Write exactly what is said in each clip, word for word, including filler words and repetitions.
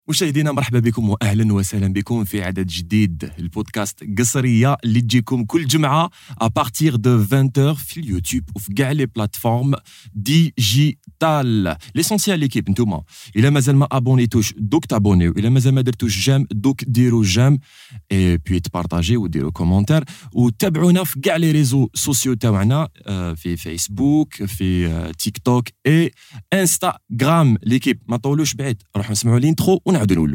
مشاهدينا مرحبا بكم واهلا وسهلا بكم في عدد جديد البودكاست قصريه اللي تجيكم كل جمعه ابارتيغ دو عشرين heures في اليوتيوب وفي كاع لي بلاتفورم ديجيتال. ليسونسيال ليكيب نتوما الا مازال ما ابونيتوش دوك تابونيو، الا مازال ما درتوش جام دوك ديروا جام اي بي تبارطاجي وديروا كومونتير وتابعونا في كاع لي ريزو سوسيو تاعنا في فيسبوك في تيك توك اي انستغرام. ليكيب ما طولوش بعيد نروحوا نسمعوا الانترو ونعاودوا نولوا.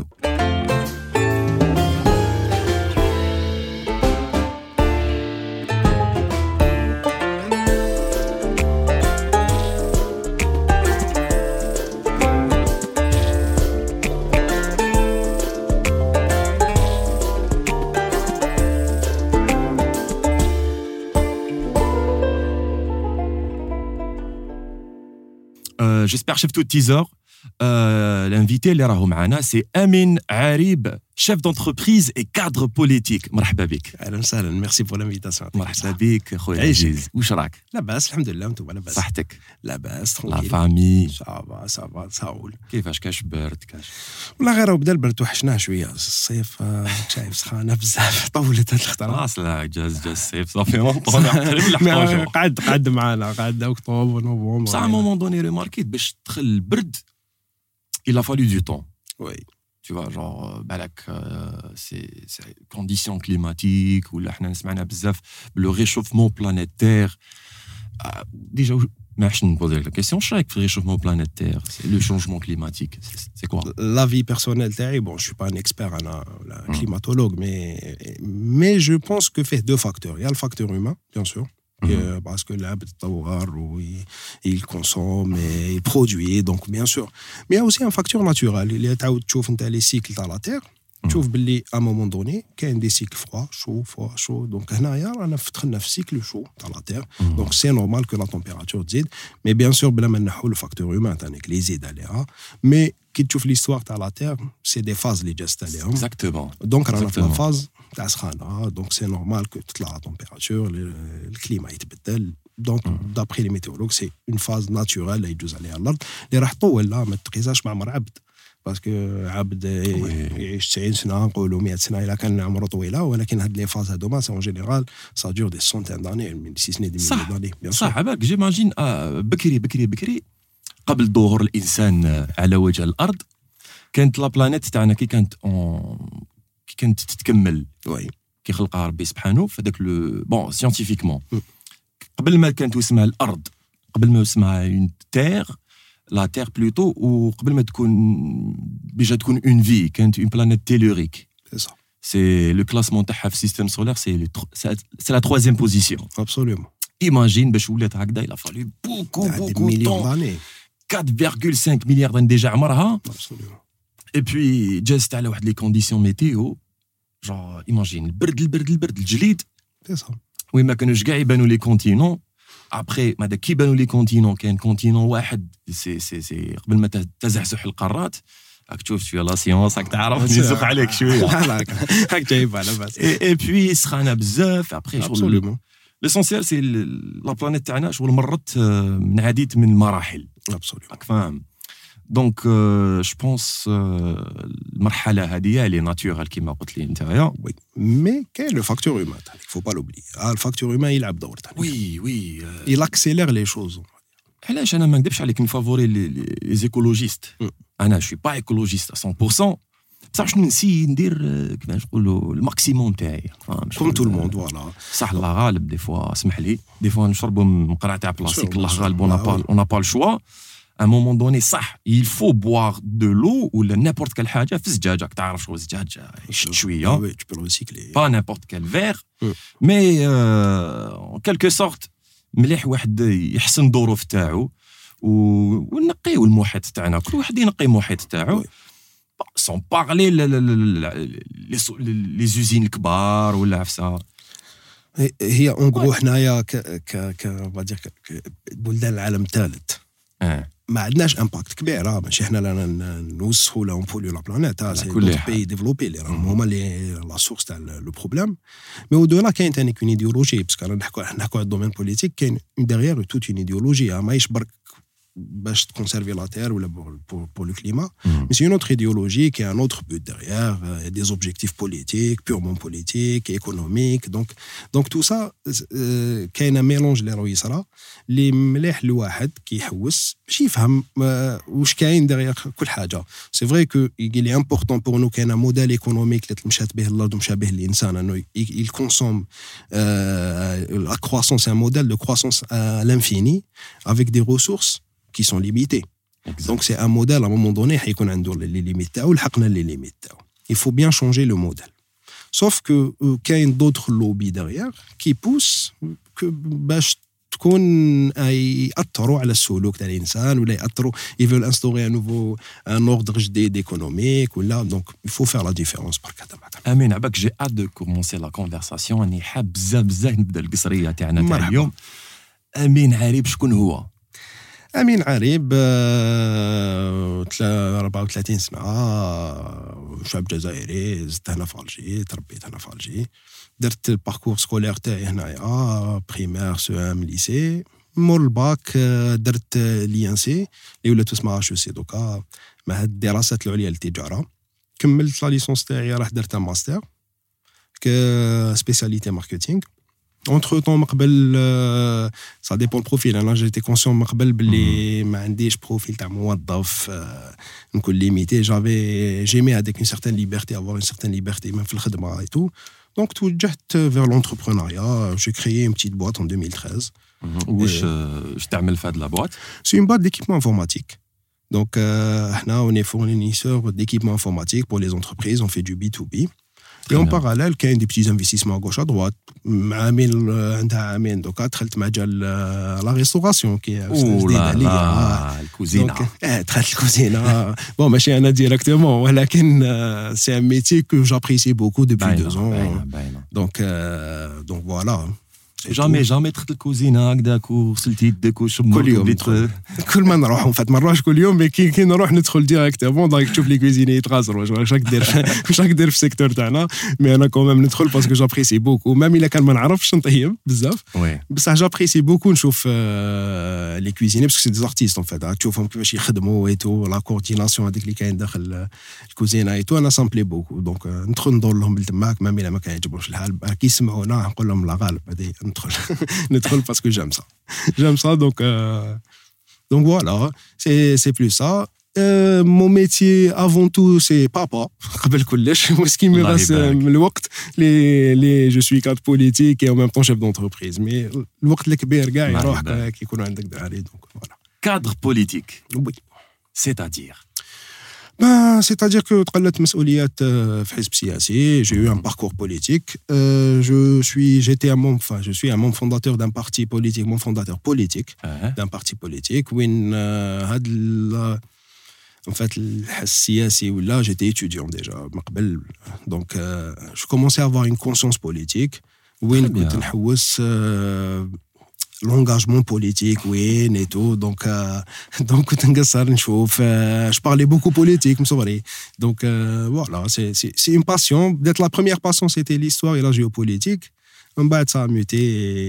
J'espère chef tout teaser. Euh, l'invité اللي راهو معنا سي امين عريب، chef d'entreprise et cadre politique. مرحبا بك. اهلا وسهلا، ميرسي بور لانفيتاسيون. مرحبا بك خويا عزيز، واش راك؟ لاباس الحمد لله، وانتم لاباس؟ صحتك؟ لاباس لا ترونكيل. فامي صافا صافا تساول. كيفاش؟ كاش برد كاش؟ والله غير بدا البرد وحشناه شويه. الصيف آه، شايف سخانه بزاف، طولت هاد الخطره. خلاص لا جاز جاز الصيف صافي مونطون تقريبا ما لحقوا. قعد قعد معانا، قعد اكتوبر نوفمبر. بصح à un moment donné remarqué باش تدخل البرد il a fallu du temps. وي Tu vois, genre, بالك c'est c'est conditions climatiques ou là حنا سمعنا بزاف le réchauffement planétaire. Déjà ما عرفتش نبوزي لك question. واش رايك في réchauffement planétaire, c'est le changement climatique, c'est c'est quoi? La vie personnelle تاعي، bon je suis pas un expert انا ولا climatologue, mais mais je pense que fait deux facteurs. Il y a le facteur humain bien sûr. Mhm. Euh, parce que l'abd tawar, il, il consomme et il produit, donc bien sûr. Mais il y a aussi un facteur naturel. Il y a les cycles dans la Terre. Tu vois, à un moment donné, il y a des cycles froids, chaud, froid, chaud. Donc, on a un cycle chaud dans la Terre. Mhm. Donc, c'est normal que la température dise. Mais bien sûr, le facteur humain, les aides aléas. Mais quand tu vois l'histoire de la Terre, c'est des phases, les gestes aléas. Exactement. Donc, on a Exactement. la phase تاع سخانة. Donc, c'est normal que toute la température, le, le climat يتبدل. Donc, Mhm. d'après les météorologues, c'est une phase naturelle اللي يجوز عليها الأرض اللي راح تطول. لا ما تقيسهاش مع عمر عبد، باسكو عبد يعيش تسعين سنة، نقولوا مئة سنة إلا كان عمره طويلة، ولكن هاد لي فاز هادوما سي اون جينيرال سا دور دي سونتين داني، من سي سني دي صح. مليون داني. بيان سور. صح بالك جيماجين آه بكري بكري بكري قبل ظهور الانسان آه، على وجه الارض كانت لا بلانيت تاعنا كي كانت اون كي كانت تتكمل وي كي خلقها ربي سبحانه في هذاك لو بون سيانتيفيكمون Mm. قبل ما كانت اسمها الارض، قبل ما اسمها اون تير لا تير بلوتو، وقبل ما تكون ديجا تكون اون في كانت اون بلانيت تيلوريك. سي سا سي لو كلاسمون تاعها في السيستم سولير سي سي لا تروازيام بوزيسيون. ابسوليومون. ايماجين باش ولات هكذا il a fallu beaucoup دي beaucoup مليون temps داني. quatre virgule cinq مليار دان ديجا عمرها. ابسوليومون. اي بوي جازت على واحد لي كونديسيون ميتيو جون ايماجين البرد البرد البرد الجليد سي سا. وين ما كانوش كاع يبانوا لي كونتينون. ابخي ما داك كي يبانوا لي كونتينون كاين كونتينون واحد سي سي سي قبل ما تزحزح القارات راك تشوف شويه لا سيونس راك تعرف نزق عليك شويه. لا لا هاك جايب على بس. اي بوي سخانه بزاف. ابخي شغل ابسوليومون. ليسونسيال سي لا بلانيت تاعنا شغل مرت آه، من عديد من المراحل ابسوليومون. راك فاهم. دونك جو بونس المرحله هذه اللي ناتورال كيما قلت لي نتايا. وي مي كاين لو فاكتور هيومان تاعك، فو با لوبلي. اه الفاكتور هيومان يلعب دور تاعك. وي وي آه، il accélère les choses. علاش انا ما نكذبش عليك نفافوري لي زيكولوجيست. Mm. انا شوي با ايكولوجيست مية بالمية، بصح شنو نسي ندير آه، كيفاش نقولوا الماكسيموم تاعي. فاهم؟ كوم تو الموند فوالا. صح الله غالب دي فوا اسمح لي دي فوا نشربوا مقرع تاع بلاستيك Sûr, الله sûr. غالب. اون Ah با oui. اون با الشوا à un moment donné صح il faut boire de l'eau ولا n'importe quelle حاجه في زجاجه. تعرف شغل زجاجه يشد شويه وي tu peux le recycler. pas n'importe quel verre. Mm. mais euh, en quelque sorte مليح واحد يحسن الظروف تاعو و- ونقيو المحيط تاعنا، كل واحد ينقي المحيط تاعو. Oui. سون بارلي لي زوزين الكبار ولا عفسه. هي- هي اون غرو حنايا ك ك ك فادير بلدان العالم الثالث اه ما عندناش امباكت كبير. راه ماشي حنا لا نوسخوا ولا نبوليو لا بلانيت. ها سي كل دوت حال. بي ديفلوبي اللي راهم هما اللي لا سورس تاع لو بروبليم. مي ودولا كاين ثاني اون ايديولوجي، باسكو رانا نحكوا نحكوا على الدومين بوليتيك، كاين ديغيير توت اون ايديولوجي. ماهيش برك باش conserver la terre ou pour, pour le climat. Mm. Mais c'est une autre idéologie qui a un autre but derrière, euh, des objectifs politiques, purement politiques, économiques. Donc, donc tout ça, euh, كاين un mélange اللي راهو يصرا اللي مليح لواحد كيحوس باش يفهم واش كاين derrière كل حاجة. C'est vrai que il est important pour nous كاين un modèle économique اللي مشات به الأرض ومشى به الإنسان إنه il consomme euh, la croissance, c'est un modèle de croissance à l'infini avec des ressources qui sont limitées. Exact. Donc c'est un modèle à un moment donné حيكون عنده les limites تاعو لحقنا les limites تاعو. Il faut bien changer le modèle. Sauf que كاين euh, d'autres lobbies derrière qui poussent que باش تكون يأثروا على السلوك تاع الإنسان ولا يأثروا ils veulent instaurer un nouveau un ordre جديد économique ولا donc il faut faire la différence برك هذا معك. امين عباك جي اد دو كومونسي لا كونفرساسيون اني حاب بزاف بزاف نبدا القصريه تاعنا تاع اليوم. امين عريب شكون هو؟ أمين عريب أربعة وثلاثين سنة شاب جزائري زدت هنا في ألجي تربيت هنا في ألجي درت الباركور سكولير تاعي هنايا بريمير سو ام ليسي مور الباك درت لي ان سي اللي ولات اسمها اش سي دوكا معهد الدراسات العليا للتجارة كملت لا ليسونس تاعي راه درت ماستر ك سبيسياليتي ماركتينغ. Entre temps, euh, ça dépend le profil. Là, j'étais conscient que ma عنديش profil تاع موظف نكون limité. J'avais, j'aimais avec une certaine liberté, avoir une certaine liberté, même في الخدمة et tout. Donc, توجهت vers l'entrepreneuriat. J'ai créé une petite boîte en deux mille treize. واش واش تعمل في هاد لا boîte? C'est une boîte d'équipement informatique. Donc, euh, là, on est fournisseur d'équipement informatique pour les entreprises. On fait du B two B. Et en parallèle, il y a des petits investissements à gauche à droite. عامل عندها عامين دوكا دخلت مجال لا ريستوراسيون كي جديد عليا الكوزينه. اه دخلت الكوزينه بون ماشي انا ديريكتومون ولكن سي ان ميتي كو جابريسي بوكو دوبوي دو زون. دونك دونك فوالا جامي جامي دخلت الكوزينه هكذاك وغسلتي يدك وشمرت كل يوم كل ما نروح فات ما نروحش كل يوم مي كي كي نروح ندخل ديريكتومون دونك تشوف لي كوزيني يتغازروا واش راك دير واش راك دير في السيكتور تاعنا. مي انا كومام ندخل باسكو جابريسي بوكو ميم الا كان ما نعرفش نطيب بزاف بصح جابريسي بوكو نشوف لي كوزيني باسكو سي دي ارتيست اون فات تشوفهم كيفاش يخدموا اي تو لا كورديناسيون هذيك اللي كاين داخل الكوزينه اي تو انا سامبلي بوكو دونك ندخل ندور لهم بالتماك ميم الا ما كيعجبهمش الحال كي يسمعونا نقول لهم لا غالب هذه ندخل ندخل parce que j'aime ça j'aime ça donc euh, donc voilà c'est c'est plus ça euh, mon métier avant tout c'est papa قبل كلش ce qui me reste الوقت les les je suis cadre politique et en même temps chef d'entreprise mais الوقت الكبير كاع يروح كي يكون عندك داري donc voilà cadre politique oui c'est-à-dire Ben, c'est-à-dire que تقلت مسؤوليات في حزب سياسي. J'ai eu un parcours politique. Euh, je suis, j'étais un membre, enfin, je suis un membre fondateur d'un parti politique, mon fondateur politique uh-huh. d'un parti politique. Où هاد en fait السياسي ولا j'étais étudiant déjà قبل. Donc euh, je commençais à avoir une conscience politique. وين كنت نحوس l'engagement politique oui et tout donc euh, donc كنت نقصر نشوف euh, je parlais beaucoup politique مصوري donc euh, voilà c'est c'est c'est une passion. Peut-être la première passion c'était l'histoire et la géopolitique. On va ça a muté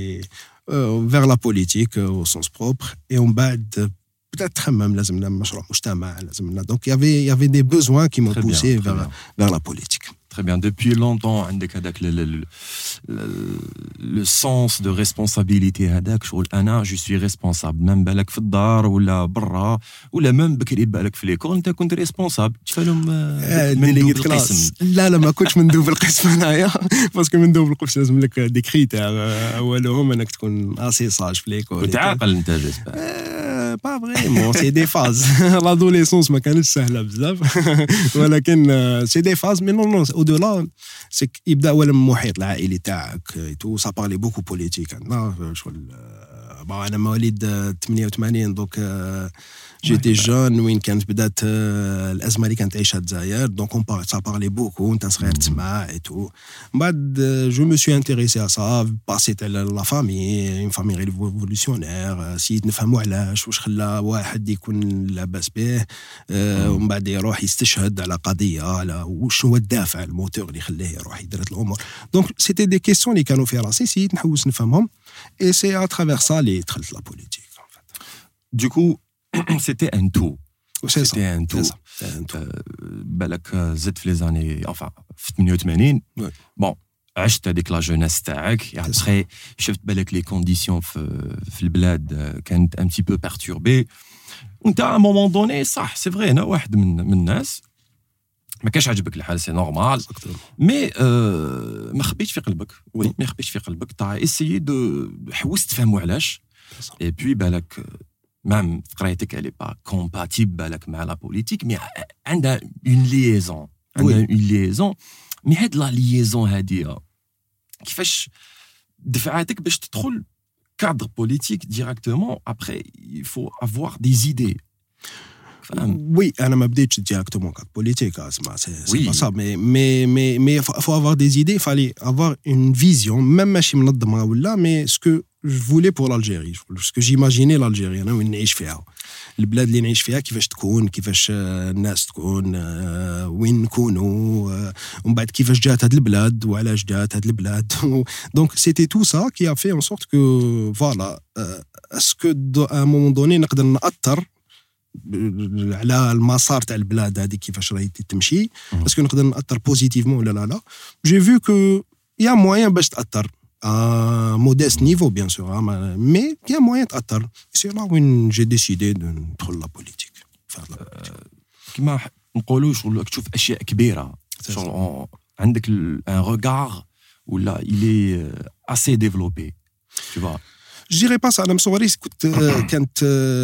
euh, vers la politique euh, au sens propre et on va peut-être même لازمنا مشروع مجتمع لازمنا donc il y avait il y avait des besoins qui m'ont très poussé bien, vers vers la politique. Très bien. Depuis longtemps, عندك هذاك le, le, le, le sens de responsabilité هذاك شغل أنا je suis responsable. même بالك في الدار ولا برا ولا même بكري بالك في ليكول أنت كنت responsable. تفهم مندوب القسم؟ لا لا ما كنتش مندوب القسم هنايا باسكو مندوب القسم لازم لك دي كريتير أولهم أنك تكون اسي ساج في ليكول. كنت عاقل أنت جيسبر؟ pas vraiment c'est des phases. l'adolescence ما كانتش سهلة بزاف ولكن c'est des phases mais non non au-delà c'est يبدأ أولا المحيط العائلي تاعك tout ça parlait beaucoup politique عندنا شغل أنا مواليد ثمانية وثمانين donc j'étais jeune وين كانت بدات الأزمة اللي كانت تعيشها الجزائر donc on parlait ça parlait beaucoup أنت صغير تسمع et tout. بعد je me suis intéressé à ça passé la famille une famille révolutionnaire سيد نفهموا علاش واش خلى واحد يكون لاباس به ومن بعد يروح يستشهد على قضية على واش هو الدافع الموتور اللي خلاه يروح يدير الأمور. donc c'était des questions اللي كانوا في راسي سيد نحوس نفهمهم et c'est à travers ça اللي دخلت la politique en fait. Du coup c'était un tout. C'est ça. C'était un tout. C'est ça. C'est un tout. بالك زدت في les années enfin في ثمانية وثمانين. Ouais. Bon, عشت هذيك لا جونيس تاعك et après شفت بالك les conditions في في البلاد كانت un petit peu perturbées. وانت à un moment donné صح c'est vrai انا واحد من من الناس ما كاش عجبك الحال سي نورمال مي euh, ما خبيتش في قلبك وي ما خبيتش في قلبك تاع اسيي دو حوست تفهموا علاش اي بوي بالك même قرايتك elle est pas compatible بالك مع لا بوليتيك مي عندها اون ليزون عندها اون ليزون مي هاد لا ليزون هادي كيفاش دفعتك باش تدخل cadre politique directement après il faut avoir des idées. Oui, انا ما بديتش directement cadre politique اسمع c'est oui. pas ça mais mais mais mais faut avoir des idées, il fallait avoir une vision même ماشي منظمه ولا mais ce que je voulais pour l'Algérie, ce que j'imaginais l'Algérie انا وين نعيش فيها البلاد اللي نعيش فيها كيفاش تكون كيفاش الناس تكون وين نكونوا ومن بعد كيفاش جات هاد البلاد وعلاش جات هاد البلاد donc c'était tout ça qui a fait en sorte que voilà est-ce que à un moment donné نقدر نأثر على المسار تاع البلاد هذه كيفاش راهي تمشي باسكو نقدر نأثر بوزيتيفمون ولا لا لا جي فيو كو يا موين باش تأثر à modeste niveau bien sûr mais il y a moyen d'atteindre c'est là où j'ai décidé de prendre la politique faire la politique كما نقولوا شغل تشوف اشياء كبيره شغل عندك un regard ولا il est assez développé tu vois je dirais pas ça انا مصوري كنت كانت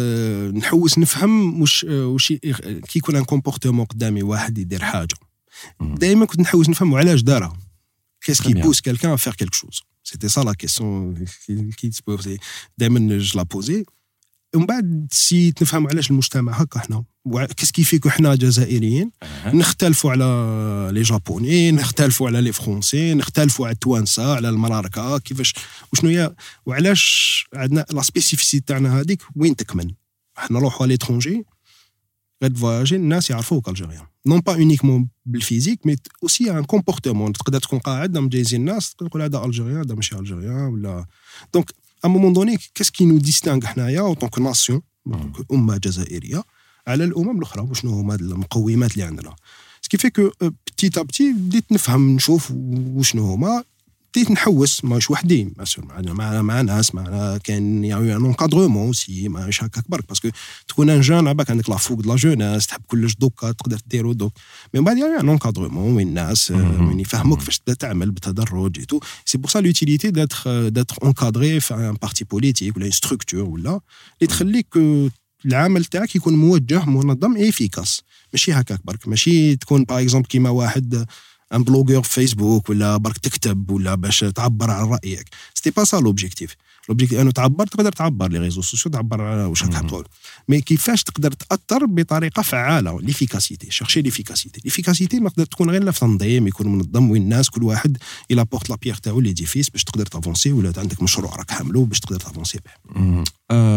نحوس نفهم واش واش كي يكون ان كومبورتمون قدامي واحد يدير حاجه دائما كنت نحوس نفهم علاش دارها qu'est-ce qui pousse quelqu'un à faire quelque chose. C'était ça la question qui se posait. دائما je la posais. ومن بعد سي نفهم علاش المجتمع هكا احنا qu'est-ce qui fait que احنا جزائريين نختلفوا على لي جابوني نختلفوا على لي فرونسي نختلفوا على التوانسه على المراركه كيفاش وشنو هي وعلاش عندنا لا سبيسيفيسيتي تاعنا هذيك وين تكمن احنا نروحوا على ليترونجي غاد فواياجي الناس يعرفوك الجيريان non pas uniquement بالفيزيك mais aussi un comportement تقدر تكون قاعد مجايزين الناس تقول هذا الجيريان هذا ماشي الجيريان ولا donc à un moment donné qu'est-ce qui nous distingue حنايا en tant que nation أمة جزائرية على الأمم الأخرى وشنو هما المقومات اللي عندنا ce qui fait que petit à petit بديت نفهم نشوف وشنو هما بديت نحوس ماش وحدي مع مع مع ناس مع كان يعني ان انكادرومون سي ماش هكاك برك باسكو تكون ان جون عباك عندك لا فوق د لا جوناس تحب كلش دوكا تقدر ديرو دوك مي بعد يعني ان انكادرومون وين الناس وين يفهموك كيفاش تعمل بالتدرج اي تو سي بور سا لوتيليتي داتر داتر انكادري في ان بارتي بوليتيك ولا ستركتور ولا اللي تخليك العمل تاعك يكون موجه منظم افيكاس ماشي هكاك برك ماشي تكون باغ اكزومبل كيما واحد ان بلوغور في فيسبوك ولا برك تكتب ولا باش تعبر عن رايك سيتي با سا لوبجيكتيف لوبجيكتيف انه تعبر تقدر تعبر لي ريزو سوسيو تعبر على واش راك تقول مي كيفاش تقدر تاثر بطريقه فعاله ليفيكاسيتي شيرشي ليفيكاسيتي ليفيكاسيتي ما تقدر تكون غير في تنظيم يكون منظم وين الناس كل واحد الى بورت لا بيير تاعو ليديفيس باش تقدر تافونسي ولا عندك مشروع راك حاملو باش تقدر تافونسي به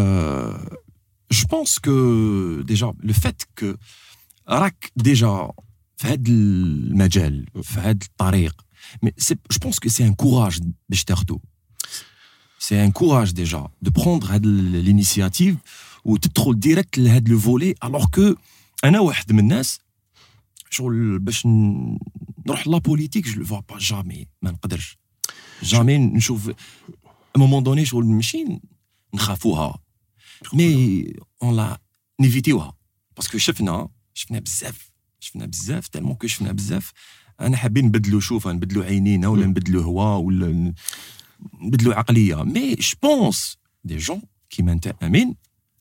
je pense que déjà le fait que راك déjà في هذا المجال في هذا الطريق mais je pense que c'est un courage باش تاخذو c'est un courage déjà de prendre هذه l'initiative وتدخل ديريكت لهذا لو فولي alors que انا واحد من الناس شغل باش نروح لا بوليتيك je le vois pas jamais ما نقدرش jamais نشوف à un moment donné شغل ماشي نخافوها mais on l'a نيفيتيوها باسكو شفنا شفنا بزاف شفنا بزاف تالمون كو شفنا بزاف انا حابين نبدلوا شوف نبدلوا عينينا ولا نبدلوا هوا ولا نبدلوا عقليه مي جو بونس دي جون كيما انت امين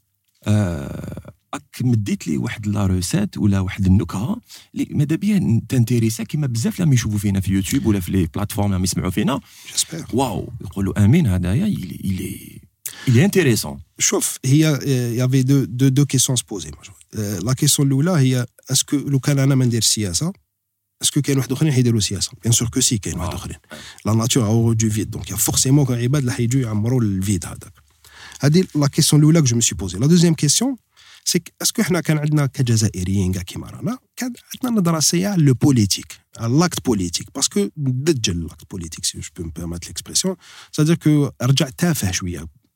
اك مديت لي واحد لا روسيت ولا واحد النكهه اللي ماذا بيا تانتيريسا كيما بزاف لما يشوفوا فينا في يوتيوب ولا في لي بلاتفورم لما يسمعوا فينا واو يقولوا امين هذايا il il est intéressant. شوف هي il y avait deux deux deux questions à se poser. La question الاولى هي est-ce que لو كان انا ما ندير السياسه est-ce que كاين واحد اخرين حيديروا السياسه bien sûr que si كاين واحد اخرين la nature a horreur du vide donc il y a forcément عباد اللي حيجوا يعمروا الفيد هذاك هذه la question الاولى que je me suis posée. La deuxième question c'est est-ce que احنا كان عندنا كجزائريين كاع كيما رانا كان عندنا نظره سيئه على لو بوليتيك على لاكت بوليتيك باسكو دجل لاكت بوليتيك سي جو بو مي بيرميت ليكسبرسيون c'est-à-dire que رجع تافه شويه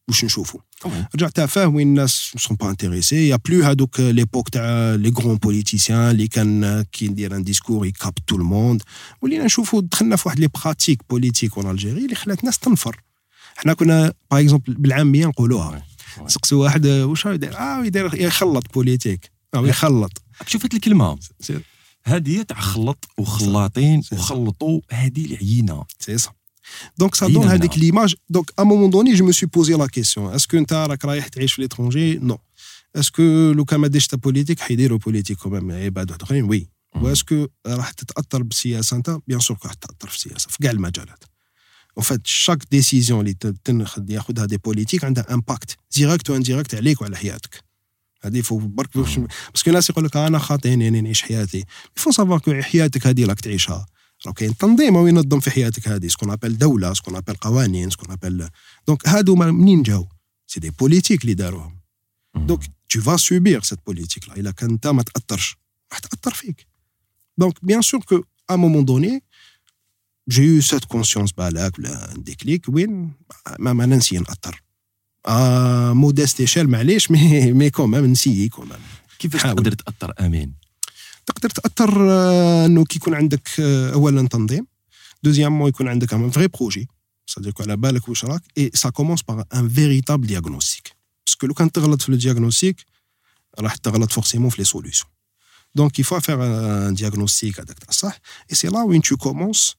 واش نشوفوا رجعت فاه وين الناس سون با انتريسي يا بلو هذوك ليبوك تاع لي غران بوليتيسيان اللي كان كي ندير ان ديسكور يكاب تو الموند ولينا نشوفوا دخلنا في واحد لي براتيك بوليتيك اون الجيري اللي خلات الناس تنفر. حنا كنا باغ اكزومبل بالعاميه نقولوها سقسوا واحد واش راه يدير اه يدير يخلط بوليتيك اه يخلط شوف هاد الكلمه هذه تاع خلط وخلاطين وخلطوا هذه العينه سي صح. Donc ça donne هذيك l'image. Donc à un moment donné je me suis posé la question est-ce que انت راك رايح تعيش في l'étranger non est-ce que لو كان ما ديرش تا بوليتيك حيديروا بوليتيك كومام عباد اخرين وي و est-ce que راح تتاثر بالسياسه انت بيان سور راح تتاثر في السياسه في كاع المجالات. en fait chaque décision اللي تنخذ ياخذها دي بوليتيك عندها امباكت ديريكت و انديريكت عليك وعلى حياتك. هذه فوق برك باسكو الناس يقول لك انا خاطيني يعني نعيش حياتي يفو سافوار كو حياتك هذه راك تعيشها راه كاين تنظيم هو ينظم في حياتك هذه سكون ابل دوله سكون ابل قوانين سكون ابل دونك هادو منين جاو سي دي بوليتيك اللي داروهم دونك tu vas subir cette politique là الا كان انت ما تاثرش راح تاثر فيك. دونك بيان سور كو ا مومون دوني j'ai eu cette conscience بالك ولا ديكليك وين ما ما ننسي ناثر ا مودست ايشيل معليش مي مي كومام نسيي كومام. كيفاش تقدر تاثر امين؟ تقدر تاثر انه كي يكون عندك اولا تنظيم دوزيامون يكون عندك ان فري بروجي صديق على بالك واش راك اي سا كومونس باغ ان فيريتابل دياغنوستيك باسكو لو كان تغلط في الدياغنوستيك راح تغلط فورسيمون في لي سوليوشن. دونك il faut faire un diagnostic هذاك تاع الصح اي سي لا وين tu commences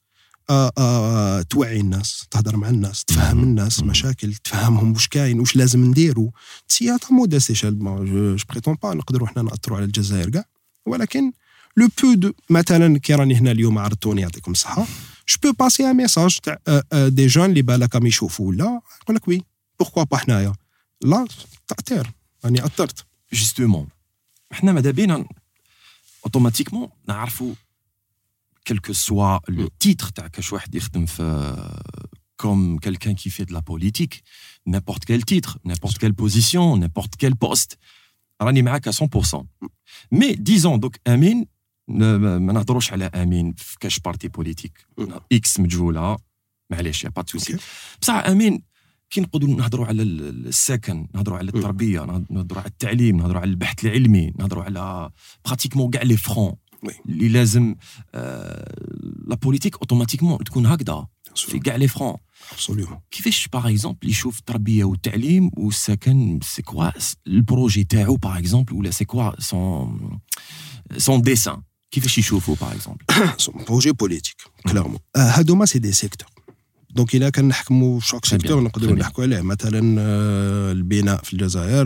ا توعي الناس تهضر مع الناس تفهم الناس مشاكل تفهمهم واش كاين واش لازم نديروا سياتا مودا سيشال جو بريتون با نقدروا حنا ناثروا على الجزائر كاع ولكن لو بو دو مثلا كي راني هنا اليوم عرضتوني يعطيكم الصحه جو بو باسي ان ميساج تاع دي جون اللي بالك راهم يشوفوا ولا يقول لك وي بوركوا با حنايا لا تاثير راني اثرت جوستومون حنا ماذا بينا اوتوماتيكمون نعرفوا quel que soit le titre تاع كاش واحد يخدم في comme quelqu'un qui fait de la politique n'importe quel titre n'importe quelle position n'importe quel poste راني معاك à cent pour cent mais disons donc امين ما نهضروش على امين في كاش بارتي بوليتيك اكس مجهوله معليش يا با توسي بصح امين كي نقولوا نهضروا على السكن نهضروا على التربيه نهضروا على التعليم نهضروا على البحث العلمي نهضروا على براتيكمون كاع لي فرون اللي لازم لا بوليتيك اوتوماتيكمون تكون هكذا في كاع لي فرون ابسوليومون. كيفاش باغ اكزومبل يشوف التربيه والتعليم والسكن سي كوا البروجي تاعو باغ اكزومبل ولا سي كوا سون سون ديسان كيفاش يشوفوا باغ اكزومبل سون بروجي بوليتيك كلارمون هادوما سي دي سيكتور دونك الا كان نحكموا شاك سيكتور نقدروا نحكوا عليه مثلا البناء في الجزائر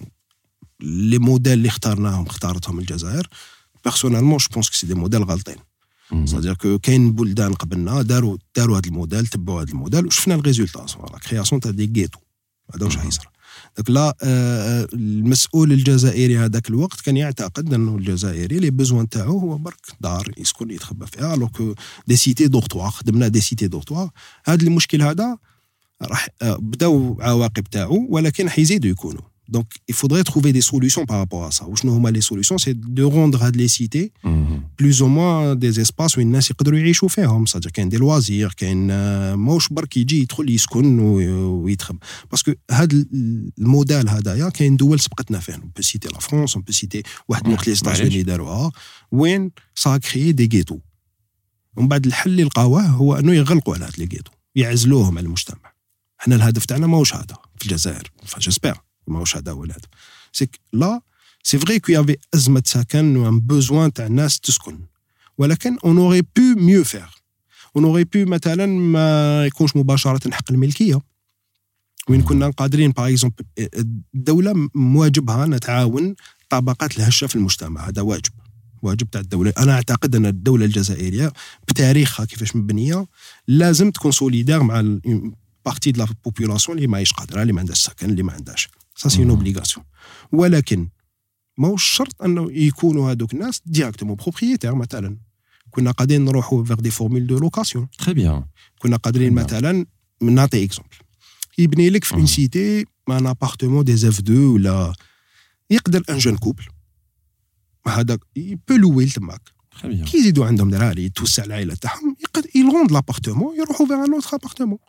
لي موديل اللي اخترناهم اختارتهم الجزائر بيرسونيلمون جو بونس كو سي دي موديل غالطين صدير كو كاين بلدان قبلنا داروا داروا هذا الموديل تبعوا هذا الموديل وشفنا الريزولتا لا كرياسيون تاع دي غيتو هذا واش حيصير دونك لا المسؤول الجزائري هذاك الوقت كان يعتقد انه الجزائري لي بوزوان تاعو هو برك دار يسكن يتخبى فيها الوغ كو دي سيتي دورتوار خدمنا دي سيتي دورتوار. هذا المشكل هذا راح بداو عواقب تاعو ولكن حيزيدوا يكونوا. Donc, il faudrait trouver des solutions par rapport à ça. Ou sinon, les solutions, c'est de rendre les cités mm-hmm. plus ou moins des espaces où les gens peuvent vivre. C'est-à-dire qu'il y a des loisirs, qu'il y a un moche bar qui dit qu'il y a un parce que le modèle, il y a une double spectacle. On peut citer la France, on peut citer les États-Unis, où ça a créé des ghettos. ومن بعد الحل اللي لقاوه هو انه يغلقوا على هاد لي غيتو يعزلوهم على المجتمع. حنا الهدف تاعنا ماهوش هذا في الجزائر فجسبر ماهوش هذا هو الهدف. سي لا سي فري كو يافي ازمه سكن و ان بوزوان تاع الناس تسكن ولكن اون اوري بو ميو فير اون اوري بو مثلا ما يكونش مباشره حق الملكيه وين كنا قادرين باغ اكزومبل الدوله مواجبها نتعاون طبقات الهشه في المجتمع. هذا واجب واجب تاع الدوله. انا اعتقد ان الدوله الجزائريه بتاريخها كيفاش مبنيه لازم تكون سوليدار مع بارتي دو لا بوبولاسيون اللي ماهيش قادره اللي ما عندهاش سكن اللي ما عندهاش سا سي اون اوبليغاسيون. ولكن ماهوش شرط انه يكونوا هذوك الناس ديريكتومون بروبريتير. مثلا كنا قادرين نروحوا فيغ دي فورمول دو لوكاسيون تري بيان. كنا قادرين مثلا نعطي اكزومبل يبني لك في اون سيتي ان ابارتمون دي اف دو ولا يقدر ان جون كوبل هذاك يبو لويل تماك كي يزيدوا عندهم دراري توسع العائله تاعهم يقدر يلوند لابارتمون يروحوا فيغ ان اوتر ابارتمون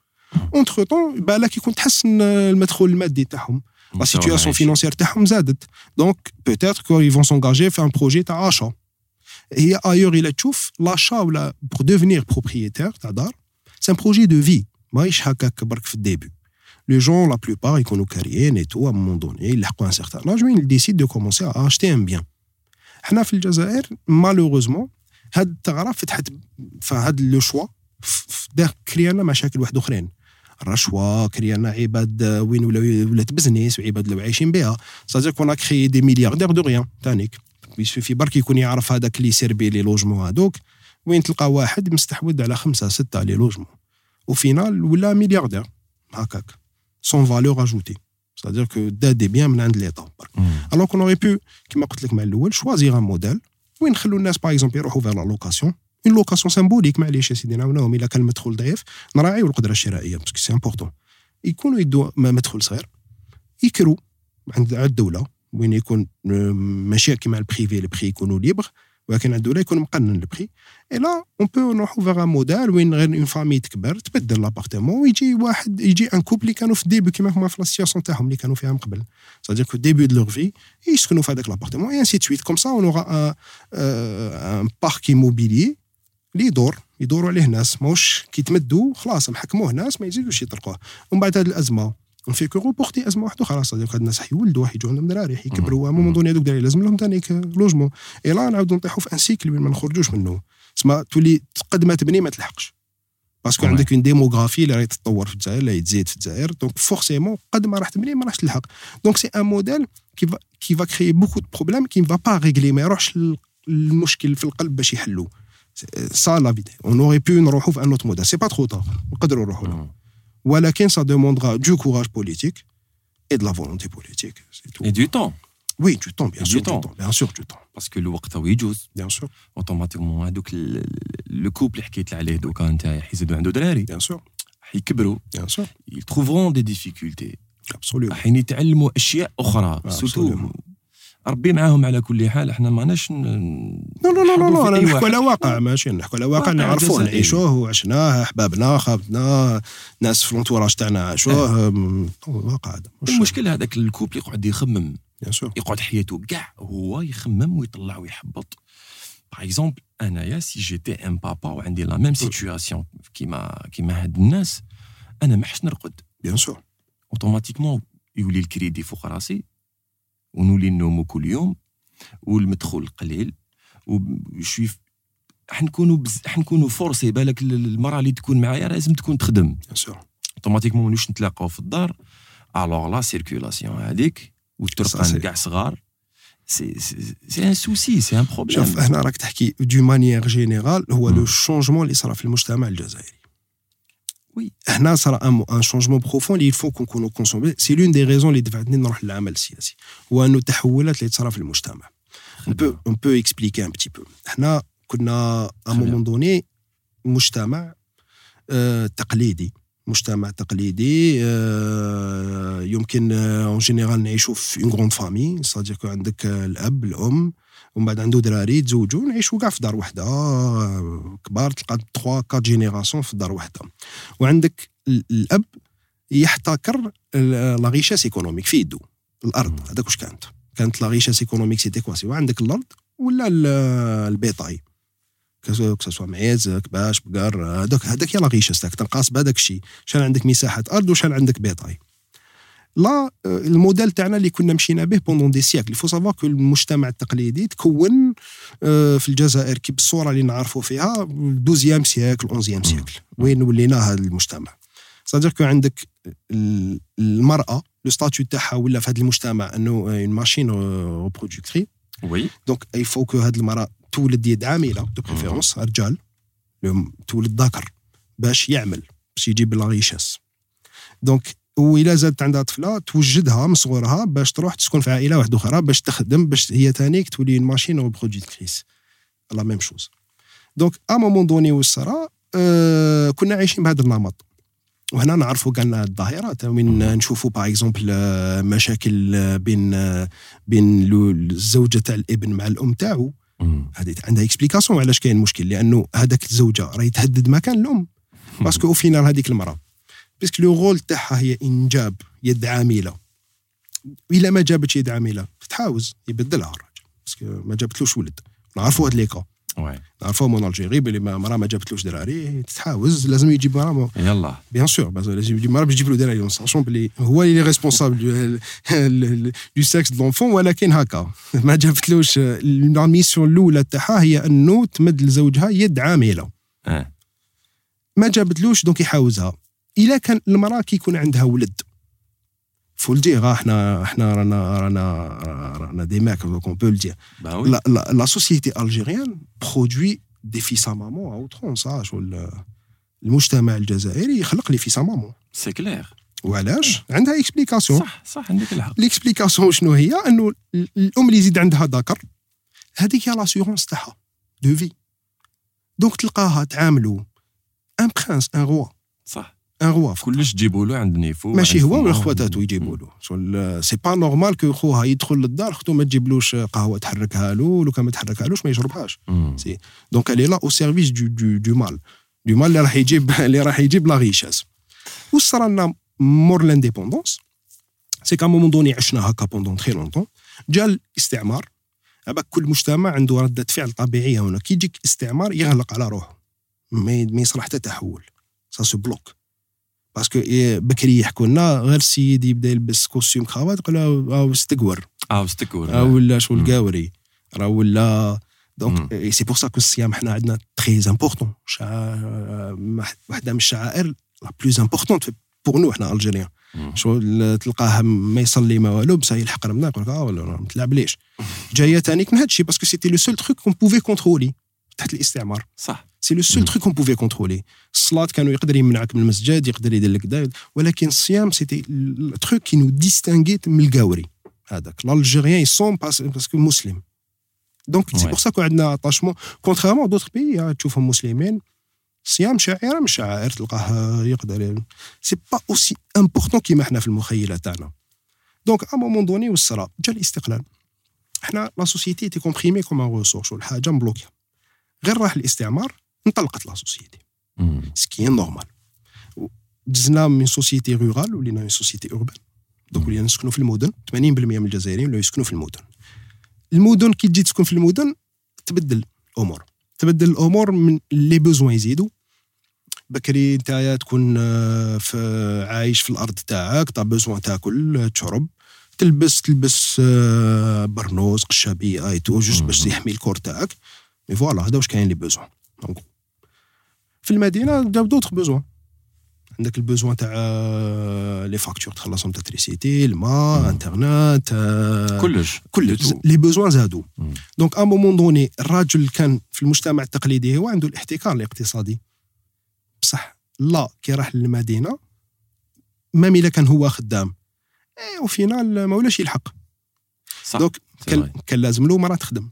اونتر طون بالك يكون تحسن المدخول المادي تاعهم لا سيتوياسيون فينانسيير تاعهم زادت دونك بوتيتر كو يفون سونغاجي في ان بروجي تاع achat هي ايور الى تشوف لاشا ولا بور ديفينير بروبريتير تاع دار سي ان بروجي دو في ماهيش هكاك برك في الديبي لي جون لا بلوبار يكونوا كاريين اي تو ا مون دوني يلحقوا ان سيغتان لاج وين ديسيد دو كومونسي ا اشتي ان بيان حنا في الجزائر مالوغوزمون هاد الثغره فتحت فهاد لو شوا دار كريانا مشاكل واحد اخرين الرشوه كريانا عباد وين ولا ولات بزنس وعباد اللي عايشين بها صافي كون كريي دي ملياردير دو ريان تانيك في برك يكون يعرف هذاك اللي يسيربي لي لوجمون هذوك وين تلقى واحد مستحوذ على خمسة ستة لي لوجمون وفينال ولا ملياردير هكاك سون فالور اجوتي c'est-à-dire que دا دي بيان من عند ليطا alors qu'on aurait pu كما قلت لك مع الاول شوازيغ ان موديل وين نخلوا الناس باغ اكزومبل يروحوا فير لا لوكاسيون اون لوكاسيون سيمبوليك معليش يا سيدي نعاونوهم الا كان المدخول ضعيف نراعيو القدره الشرائيه باسكو سي امبورطون يكونوا يدوا مدخول صغير يكروا عند الدوله وين يكون ماشي كيما البريفي البري يكونوا ليبر ولكن عند الدوله يكون مقنن البري اي لا اون بو نروحوا فيغ ان موديل وين غير اون فامي تكبر تبدل لابارتمون ويجي واحد يجي ان كوبل اللي كانوا في الديبي كيما هما في لاسياسيون تاعهم اللي كانوا فيها من قبل c'est-à-dire que début de leur vie يسكنوا في هذاك لابارتمون et ainsi de suite comme ça on aura un un parc immobilier اللي يدور يدوروا عليه ناس ماهوش كيتمدوا خلاص محكموه ناس ما يزيدوش يطرقوه ومن بعد هذه الازمه في كو روبورتي ازمه واحده خلاص هذوك الناس حيولدوا حيجوا عندهم دراري حيكبروا مو دوني هذوك دراري لازم لهم ثاني لوجمون اي لا نعاودوا نطيحوا في ان سيكل وين ما نخرجوش منه تسمى تولي قد ما تبني ما تلحقش باسكو عندك اون ديموغرافي اللي راهي تتطور في الجزائر اللي تزيد في الجزائر دونك فورسيمون قد ما راح تبني ما راحش تلحق دونك سي ان موديل كي فا كي فا كريي بوكو دو بروبليم كي فا با ريغلي ما يروحش المشكل في القلب باش يحلو سا لا فيدي اون اوري بو نروحوا في ان اوت موديل سي با ترو طار نقدروا نروحوا له ولكن سا دوموندرا دو كوراج بوليتيك et de la volonté politique c'est tout et du temps oui du temps bien et sûr du temps. du temps bien sûr du temps parce que الوقت هو يجوز bien sûr اوتوماتيكمون هذوك لو كوبل اللي حكيت عليه دوكا نتايا حيزيدوا عنده دراري bien sûr حيكبروا bien sûr ils trouveront des difficultés absolument حين يتعلموا اشياء اخرى سورتو ربي معاهم على كل حال احنا ماناش لا لا لا لا نحكوا على واقع ماشي نحكوا على واقع نعرفوه نعيشوه وعشناه احبابنا خابتنا ناس في الانتوراج تاعنا عاشوه واقع هذا المشكل هذاك الكوبل يقعد يخمم بيان سور يقعد حياته كاع هو يخمم ويطلع ويحبط باغ اكزومبل انايا سي جيتي ان بابا وعندي لا ميم سيتوياسيون كيما كيما هاد الناس انا ما حش نرقد بيان سور اوتوماتيكمون يولي الكريدي فوق راسي ونولي نومو كل يوم والمدخول قليل وشوي حنكونوا بز... حنكونوا فورسي بالك المراه اللي تكون معايا لازم تكون تخدم بيان سور اوتوماتيكمون مانوش نتلاقاو في الدار الوغ لا سيركولاسيون هذيك والترقان كاع صغار سي سي ان سوسي سي ان بروبليم شوف هنا راك تحكي دو مانيير جينيرال هو لو شونجمون اللي صرا في المجتمع الجزائري وي هنا صرا ان ان شونجمون بروفون اللي يفو نكونوا كونسومي سي لون دي ريزون اللي دفعتني نروح للعمل السياسي هو انه التحولات اللي تصرا في المجتمع on peut on peut expliquer un petit peu احنا كنا à un moment donné مجتمع آه تقليدي مجتمع تقليدي آه يمكن اون جينيرال نعيشوا في اون غروند فامي صادير كو عندك الاب الام ومن بعد عنده دراري تزوجوا نعيشوا كاع في دار وحده كبار تلقى ثلاثة أربعة جينيراسيون في دار وحده وعندك الاب يحتكر لا ريشاس ايكونوميك في يدو الارض هذاك واش كانت كانت لا ريشاس ايكونوميك سيتي كوا سي وعندك الارض ولا البيطاي كسوا معيز كباش بقر هذاك هذاك يا لا ريشاس تاعك تنقاس بهذاك الشيء شحال عندك مساحه ارض وشحال عندك بيطاي لا الموديل تاعنا اللي كنا مشينا به بوندون دي سيكل يفو سافوار كو المجتمع التقليدي تكون في الجزائر كي بالصوره اللي نعرفوا فيها دوزيام سيكل اونزيام سيكل وين ولينا هذا المجتمع صادر كو عندك المراه لو ستاتيو تاعها ولا في هذا المجتمع انه اون ماشين ريبرودكتري وي دونك اي فو كو هذه المراه تولد يد عامله دو بريفيرونس رجال تولد ذكر باش يعمل باش يجيب لا ريشاس دونك وإلا زادت عندها طفله توجدها من صغرها باش تروح تسكن في عائله واحده اخرى باش تخدم باش هي ثانيك تولي ماشين ريبرودكتريس لا ميم شوز دونك ا مومون دوني والصرا أه كنا عايشين بهذا النمط وهنا نعرفوا كاع الظاهرات وين نشوفوا باغ اكزومبل مشاكل بين بين الزوجه تاع الابن مع الام تاعو هذه عندها اكسبليكاسيون علاش كاين مشكل لانه هذاك الزوجه راهي تهدد مكان الام باسكو او فينال هذيك المراه باسكو لو رول تاعها هي انجاب يد عامله. الا ما جابتش يد عامله تحاوز يبدلها الراجل باسكو ما جابتلوش ولد. نعرفوا هاد لي كا وي نعرفوا من الجيري بلي مرا ما جابتلوش دراري تتحاوز لازم يجيب مرا يلا بيان سور لازم يجيب مرا باش يجيب له دراري ساشون بلي هو اللي ريسبونسابل دو سكس دو لونفون ولكن هكا ما جابتلوش. لا ميسيون الاولى تاعها هي انه تمد لزوجها يد عامله اه ما جابتلوش دونك يحاوزها. الا كان المراه كيكون عندها ولد faut le dire, on a des mecs, donc on peut le dire. Bah oui. La, la, la société algérienne produit des fils à maman à outrance. المجتمع الجزائري يخلق لي فيس à maman. C'est clair. وعلاش؟ عندها اكسبليكاسيون. صح صح عندك الحق. الاكسبليكاسيون شنو هي؟ انه الام اللي يزيد عندها ذكر هذيك هي لاسيورونس تاعها دو في. دونك تلقاها تعاملوا ان برانس ان روا. صح. ان روا كلش تجيبوا له عند نيفو ماشي هو ولا خواتاتو يجيبوا له. شغل سي با نورمال كو خوها يدخل للدار اختو ما تجيبلوش قهوه تحركها له، لو كان ما تحركهالوش ما يشربهاش. سي دونك الي لا او سيرفيس دو دو دو مال دو مال اللي راح يجيب اللي راح يجيب لا ريشاس. وصرا لنا مور لانديبوندونس سي كا مومون دوني عشنا هكا بوندون تري لونطون. جا الاستعمار، ابا كل مجتمع عنده رده فعل طبيعيه. هنا كي يجيك استعمار يغلق على روحه، ما يصلح حتى تحول، سا سو بلوك. باسكو بكري يحكوا لنا غير السيد يبدا يلبس كوستيم كراvat يقول اه استكور اه استكور اه ولا شغل قاوري راه ولا. دونك سي بور سا كو الصيام حنا عندنا تري امبورطون. واحده من الشعائر لا بلوز امبورطونت بور نو حنا الجيريان. شغل تلقاه ما يصلي ما والو بصح يلحق رمضان يقول لك اه ولا ما تلعبليش. جايه ثانيك من هذا الشيء باسكو سيتي لو سول تروك كون بوفي كونترولي تحت الاستعمار. صح سي لو سول تروك كون بوفي كونترولي. الصلاه كانوا يقدر يمنعك من المسجد، يقدر يدير لك دا، ولكن الصيام سيتي التروك كي نو ديستانغيت من القاوري هذاك. الجيريان يصوم باسكو مسلم. دونك سي بور سا كو عندنا اتاشمون كونتريرمون دوطر بيي تشوفهم مسلمين. الصيام شعيره من الشعائر تلقاه يقدر سي با اوسي امبورطون كيما حنا في المخيله تاعنا. دونك ا مومون دوني والصرا جا الاستقلال. حنا لا سوسيتي تي كومبريمي كوم ان ريسورس ولا حاجه مبلوكيه. غير راح الاستعمار انطلقت لا سوسيتي سكي نورمال. دزنا من سوسيتي رورال ولينا من سوسيتي اوربان. دونك ولينا نسكنوا في المدن. ثمانين بالمئة من الجزائريين ولاو يسكنوا في المدن. المدن كي تجي تسكن في المدن تبدل الامور تبدل الامور من لي بوزوان يزيدوا. بكري نتايا تكون في عايش في الارض تاعك طا بوزوان تاكل تشرب تلبس تلبس برنوس قشابيه اي تو جوست باش يحمي الكور تاعك. مي فوالا هذا واش كاين لي بوزوان. في المدينه داو دوطخ بوزوان. عندك البوزوان تاع لي فاكتور تخلصهم تاتريسيتي الماء انترنت كلش كل لي بوزوان زادوا. دونك ا مومون دوني الراجل كان في المجتمع التقليدي هو عنده الاحتكار الاقتصادي بصح لا كي راح للمدينه مام الا كان هو خدام اي او فينال ما ولاش يلحق. دونك كان, كان لازم له مرا تخدم.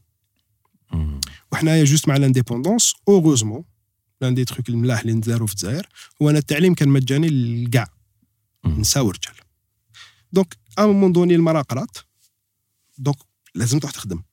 وحنايا جوست مع لانديبوندونس اوغوزمون لان دي تروك الملاح اللي ندارو في الجزائر هو ان التعليم كان مجاني للكاع نساء ورجال. دونك ا مومون دوني المراه قرات دونك لازم تروح تخدم.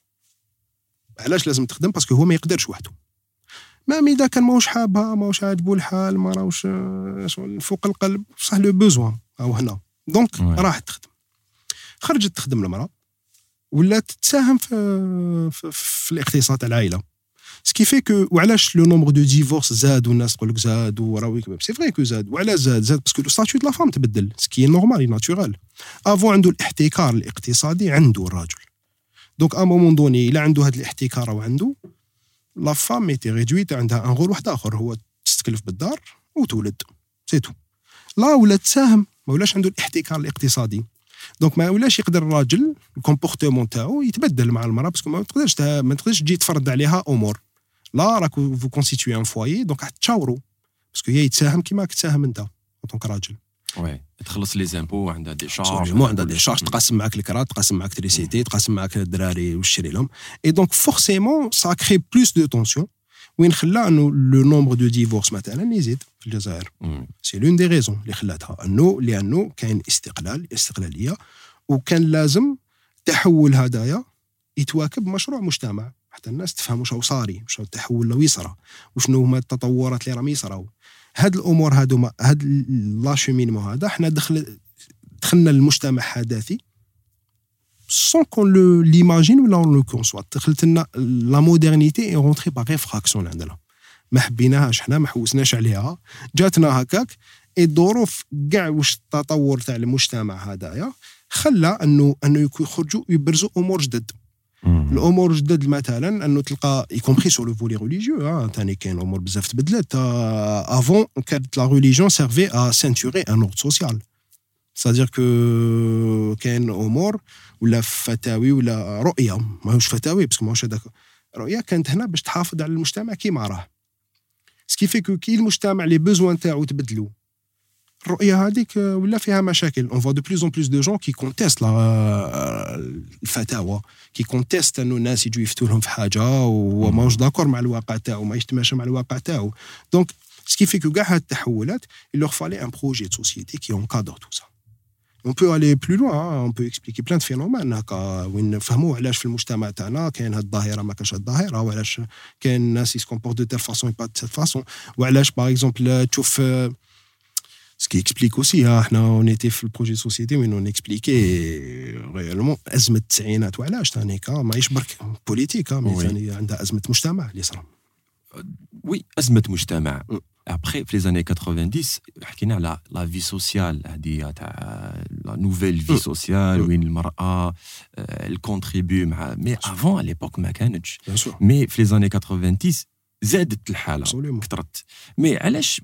علاش لازم تخدم؟ باسكو هو ما يقدرش وحده. ما اذا كان ماهوش حابها ماهوش عاجبو الحال ما راهوش فوق القلب بصح لو بوزوان او هنا. دونك راحت تخدم. خرجت تخدم المراه ولات تساهم في في, في الاقتصاد تاع العائله. سكي في كو وعلاش لو نومبر دو ديفورس زاد والناس تقول لك زاد وراوي سي فري كو زاد. وعلاش زاد؟ زاد باسكو لو ستاتيو دو لا فام تبدل سكي نورمال ناتورال. افون عنده الاحتكار الاقتصادي عنده الراجل. دونك ا مومون دوني الا عنده هذا الاحتكار وعنده لا فام ميتي ريدويت عندها ان رول واحد اخر هو تستكلف بالدار وتولد سي تو. لا ولا تساهم ما ولاش عنده الاحتكار الاقتصادي. دونك ما ولاش يقدر الراجل الكومبورتمون تاعو يتبدل مع المراه باسكو ما تقدرش ما تقدرش تجي تفرض عليها امور. لا راكو فو كونستيتوي ان فوايي دونك تشاورو باسكو هي يتساهم كيما تساهم انت دونك راجل. وي تخلص لي زامبو عندها دي شارج مو عندها دي شارج تقاسم معاك الكرا تقاسم معاك تريسيتي تقاسم معاك الدراري وتشري لهم. اي دونك فورسيمون سا كري بلوس دو تونسيون وين خلى انه لو نومبر دو ديفورس مثلا يزيد في الجزائر. سي لون دي ريزون اللي خلاتها انه لانه كاين استقلال استقلاليه وكان لازم تحول هدايا يتواكب مشروع مجتمع حتى الناس تفهم واش هو صاري واش التحول لو يصرى وشنو هما التطورات اللي راهم يصراو. هاد الامور هادو هاد لاشومينمون هذا حنا دخل دخلنا للمجتمع حداثي sans qu'on le l'imagine ولا on le conçoit. دخلت لنا لا مودرنيتي est rentrée par effraction عندنا ما حبيناهاش حنا ما حوسناش عليها جاتنا هكاك. الظروف كاع واش التطور تاع المجتمع هذايا خلى انه انه يخرجوا يبرزوا امور جدد. الامور جدد مثلا انه تلقى يكومبري سور لو فولي ريليجيو ثاني كاين امور بزاف تبدلت. افون كانت لا ريليجيون سيرفي ا سينتوري ان اوردر سوسيال c'est-à-dire que كاين امور ولا فتاوي ولا رؤيه ماهوش فتاوي باسكو ماهوش هذاك رؤيه كانت هنا باش تحافظ على المجتمع كيما راه سكي في كو كي المجتمع لي بوزوان تاعو تبدلوا الرؤيه هذيك ولا فيها مشاكل. on voit de plus en plus de gens qui contestent الفتاوى كي كونتيست انه الناس يجوا يفتوا لهم في حاجه وماهوش داكور مع الواقع تاعو ما يجتمعش مع الواقع تاعو. دونك سكي في كو كاع هاد التحولات il leur fallait un projet de société qui encadre tout ça. On peut aller plus loin, hein. On peut expliquer plein de phénomènes هكا وين نفهموا علاش في المجتمع تاعنا كاين هاد الظاهره ما كاش هاد الظاهره وعلاش كاين الناس يسكومبورت دو تيل فاسون با دو سيت فاسون وعلاش باغ اكزومبل تشوف ce qui explique aussi hein, احنا on était في البروجي سوسيتي وين on expliquait réellement ازمه التسعينات وعلاش ثاني كا ماهيش برك بوليتيك مي ثاني عندها ازمه مجتمع اللي صرا. وي ازمه مجتمع. Après, في les années quatre-vingt-dix, حكينا على la vie sociale هذه تاع la nouvelle vie sociale وين المرأة elle contribue مع mais avant à l'époque ما كانتش. mais في les années quatre-vingt-dix زادت الحالة كثرت. mais علاش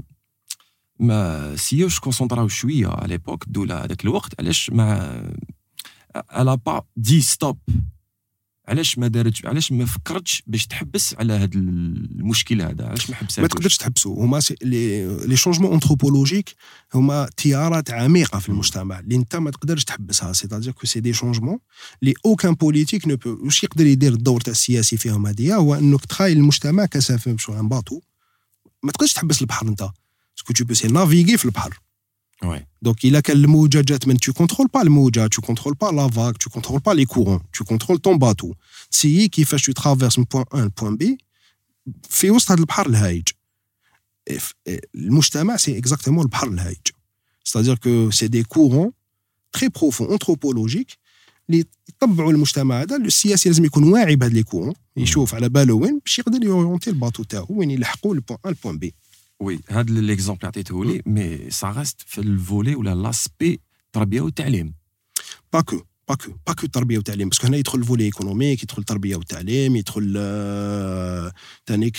ما سيوش كونسونطراو شوية à l'époque الدولة هذاك الوقت علاش ما elle a pas dit stop علاش ما دارتش علاش ما فكرتش باش تحبس على هذا المشكل هذا علاش ما حبساتش. ما تقدرش تحبسوا هما لي لي شونجمون انثروبولوجيك هما تيارات عميقه في المجتمع اللي انت ما تقدرش تحبسها. سي تادير كو سي دي شونجمون لي اوكان بوليتيك نو بو واش يقدر يدير الدور تاع السياسي فيهم هذه هو انك تخايل المجتمع كسفينه شو ان باطو ما تقدرش تحبس البحر انت باسكو تو بو سي نافيغي في البحر. Oui. Donc il a quelle الموجة جات من tu contrôles pas الموجة tu contrôles pas la vague tu contrôles pas les courants tu contrôles ton bateau. تسيي كيفاش tu traverses من point A ل point B في وسط هذا البحر الهايج. المجتمع c'est exactement البحر الهايج. c'est-à-dire que c'est des courants très profonds anthropologiques اللي يطبعوا المجتمع هذا. السياسي لازم يكون واعي بهذا لي كورون يشوف على باله وين باش يقدر يورونتي الباطو تاعو وين يلحقوا البوان A البوان B. وي هذا ليكزومبل عطيته لي مي سا ريست في الفولي ولا لاسبي التربيه والتعليم باكو باكو باكو التربيه والتعليم باسكو هنا يدخل الفولي ايكونوميك يدخل التربيه والتعليم يدخل ثانيك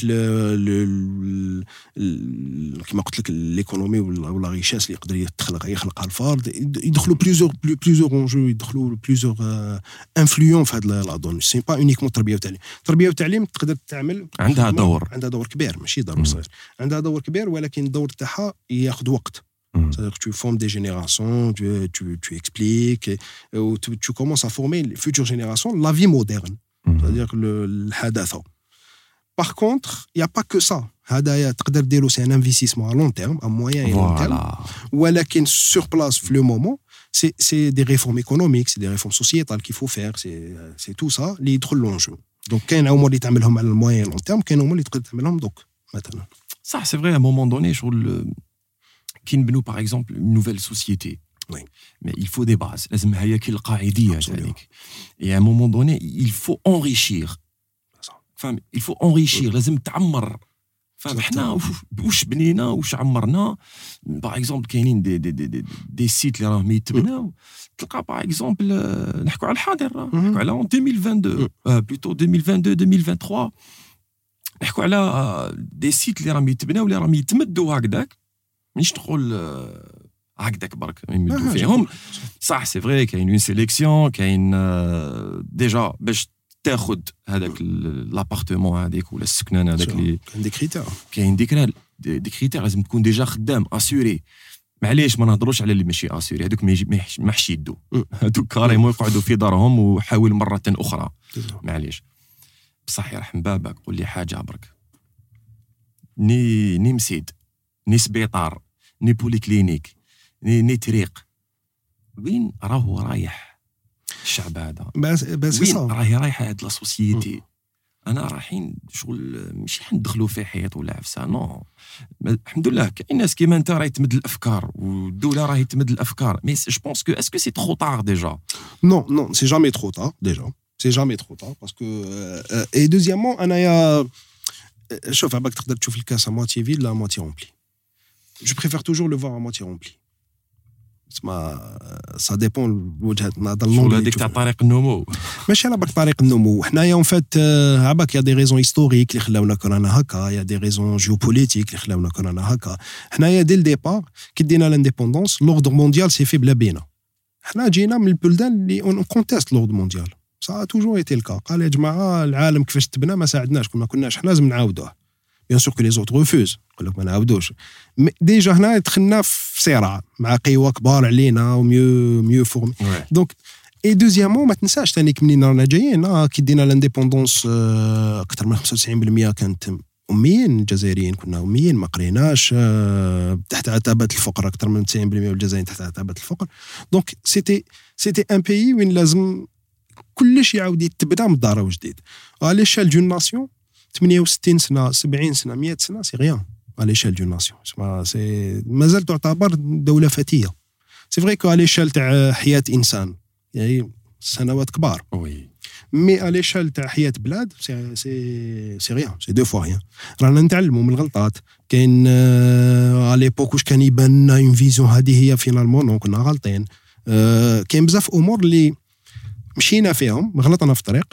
كما قلت لك ليكونومي ولا ريشاس اللي يقدر يخلق يخلقها الفرد يدخلوا بليزور بليزور اونجو يدخلوا بليزور انفلوون في هذا لا دون سي با اونيكمون التربيه والتعليم. التربيه والتعليم تقدر تعمل عندها دور عندها دور كبير ماشي دور صغير عندها دور كبير ولكن الدور تاعها ياخذ وقت. C'est-à-dire que tu formes des générations, tu, tu, tu expliques, et, et tu, tu commences à former les futures générations, la vie moderne, mm-hmm. c'est-à-dire le, le hadatha. Par contre, il n'y a pas que ça. Hadaya, c'est un investissement à long terme, à moyen et long terme. Walakin sur place, le moment, c'est, c'est des réformes économiques, c'est des réformes sociétales qu'il faut faire, c'est, c'est tout ça, les trop l'enjeu. Donc, il y a un moment qui t'amène à moyen et long terme, il y a un moment qui t'amène donc maintenant. Ça, c'est vrai, à un moment donné, sur le qui nous par exemple une nouvelle société. Oui. Mais il faut des bases. لازم هي كي القاعدية هذيك. Et à un moment donné, il faut enrichir. فهم il faut enrichir. لازم تعمر. فهم احنا واش بنينا واش عمرنا. Par exemple كاينين دي دي دي دي سيت اللي راهم يتبناو. تلقى par exemple نحكوا على الحاضر نحكوا على en deux mille vingt-deux plutôt deux mille vingt-deux deux mille vingt-trois. نحكوا على دي سيت اللي راهم يتبناو اللي راهم يتمدوا هكذاك. مانيش نقول هكذاك برك يمدوا فيهم صح سي فري كاين اون سيليكسيون كاين ديجا باش تاخذ هذاك لابارتمون هذيك ولا السكنان هذاك اللي كاين دي كريتير كاين دي دي كريتير لازم تكون ديجا خدام اسوري. معليش ما نهضروش على اللي ماشي اسوري هذوك ما حش يدو هذوك كاريمون يقعدوا في دارهم وحاول مره اخرى معليش بصح يرحم بابك قول لي حاجه برك ني ني مسيد ني سبيطار ني بوليكلينيك ني, ني طريق وين راهو رايح الشعب هذا بس بس وين راهي رايحه هاد لا سوسيتي انا رايحين شغل ماشي حندخلوا في حيط ولا عفسه نو الحمد لله كاين ناس كيما انت راهي تمد الافكار والدوله راهي تمد الافكار مي جو بونس كو اسكو سي ترو طار ديجا Non, non, c'est jamais trop tard, déjà. C'est jamais trop tard, parce que... Euh, et deuxièmement, أنايا شوف عباك تقدر تشوف الكاس à moitié vide لا à moitié rempli. Je préfère toujours le voir à moitié rempli. اسمع ça dépend وجهة نظر شغل هذيك تاع طريق النمو ماشي على بالك طريق النمو حنايا اون فات عباك يا دي ريزون هيستوريك اللي خلاونا كورونا هكا يا دي ريزون جيوبوليتيك اللي خلاونا كورونا هكا حنايا ديل ديبار كي دينا لانديبوندونس لوردر مونديال سي في بلا بينا حنا جينا من البلدان اللي اون كونتيست لوردر مونديال سا توجور ايتي الكا قال يا جماعه العالم كيفاش تبنى ما ساعدناش كنا كناش حنا لازم نعاودوه بيان سور كو لي زوت ريفوز يقول لك ما نعاودوش ديجا هنا دخلنا في صراع مع قوى كبار علينا وميو ميو فورمي دونك اي دوزيامون ما تنساش ثاني منين رانا جايين كي دينا لانديبوندونس اكثر من خمسة وتسعين بالمئة كانت اميين الجزائريين كنا اميين ما قريناش تحت عتبه الفقر اكثر من تسعين بالمئة والجزائريين تحت عتبه الفقر دونك سيتي سيتي ان بيي وين لازم كلش يعاود يتبدا من الدار وجديد على ليشال دون ناسيون ثمانية وستين سنه سبعين سنه مية سنه سي غيان على ليشال دون ناسيون سي مازال تعتبر دوله فتيه سي فري كو على ليشال تاع حياه انسان يعني سنوات كبار وي مي على ليشال تاع حياه بلاد سي سي سي غيان سي دو فوا غيان رانا نتعلموا من الغلطات كاين على ليبوك واش كان يبان لنا اون فيزيون هذه هي فينالمون دونك كنا غالطين كاين بزاف امور اللي مشينا فيهم غلطنا في الطريق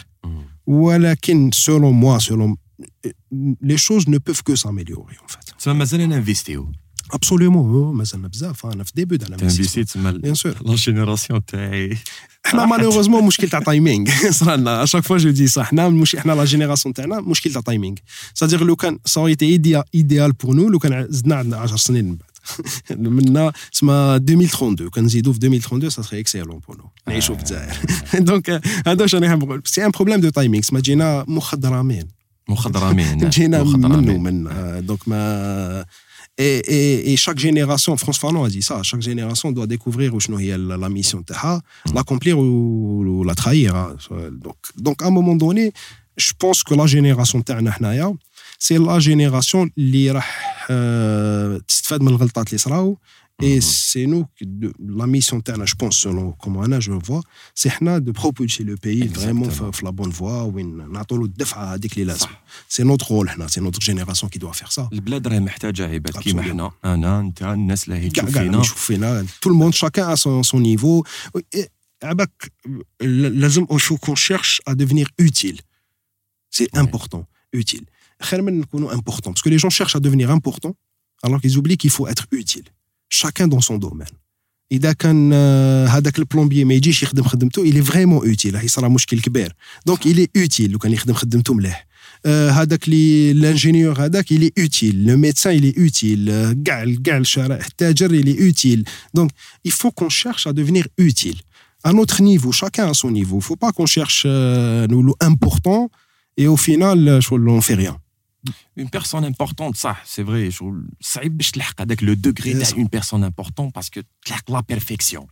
ولكن selon moi selon les choses ne peuvent que s'améliorer en fait. Ça مازال نانفيستيو. Absolument, مازالنا بزاف انا في ديبي تاع الانفستيسيون. تسمى بيان سور. لا جينيراسيون تاعي. احنا مالوغوزمون مشكل تاع تايمينغ صرالنا اشاك فوا جو دي صح حنا مش احنا لا جينيراسيون تاعنا مشكل تاع تايمينغ صادير لو كان سا ايتي ايديال بور نو لو كان زدنا عندنا عشر سنين من بعد منا اسمها ألفين وثلاثة وعشرين كان نزيدو في ألفين وثلاثة وعشرين سا سري اكسيلون بور نو نعيشو في الجزائر دونك هذا واش راني حاب نقول سي ان بروبليم دو تايمينغ اسمها جينا مخضرمين مخضرمين جينا منو من دونك ما Et, et, et chaque génération, France Fanon a dit ça, chaque génération doit découvrir où est la, la mission taha, mm. l'accomplir ou, ou la trahir. Donc, donc, à un moment donné, je pense que la génération taha, c'est la génération qui va تستفاد من الغلطات اللي صراو. Et c'est nous, la mission taha, je pense, selon comment Anna, je le vois, c'est de propulser le pays vraiment dans la bonne voie, où نعطولو الدفعة هذيك اللي لازم. C'est notre rôle, c'est notre génération qui doit faire ça. البلاد راهي محتاجة عباد كيما حنا، أنا أنت الناس اللي هي تشوف فينا. تشوف فينا، tout le monde, chacun à son, son niveau. عباك لازم qu'on cherche à devenir utile. C'est important, utile. خير من نكونوا important, parce que les gens cherchent à devenir important, alors qu'ils oublient qu'il faut être utile. Chacun dans son domaine. إذا كان هذاك البلومبيي ما يجيش يخدم خدمته il est vraiment utile هي صرا مشكل كبير donc il est utile لو كان يخدم خدمته مليح هذاك لي الانجينيور هذاك il est utile le médecin il est utile كاع كاع الشرائح التاجر il est utile donc il faut qu'on cherche à devenir utile à notre niveau chacun à son niveau il faut pas qu'on cherche nous le important et au final on fait rien. Une personne importante, ça, c'est vrai. Ça aide à تلحق هذاك le degré de une personne importante parce que تلحق la perfection.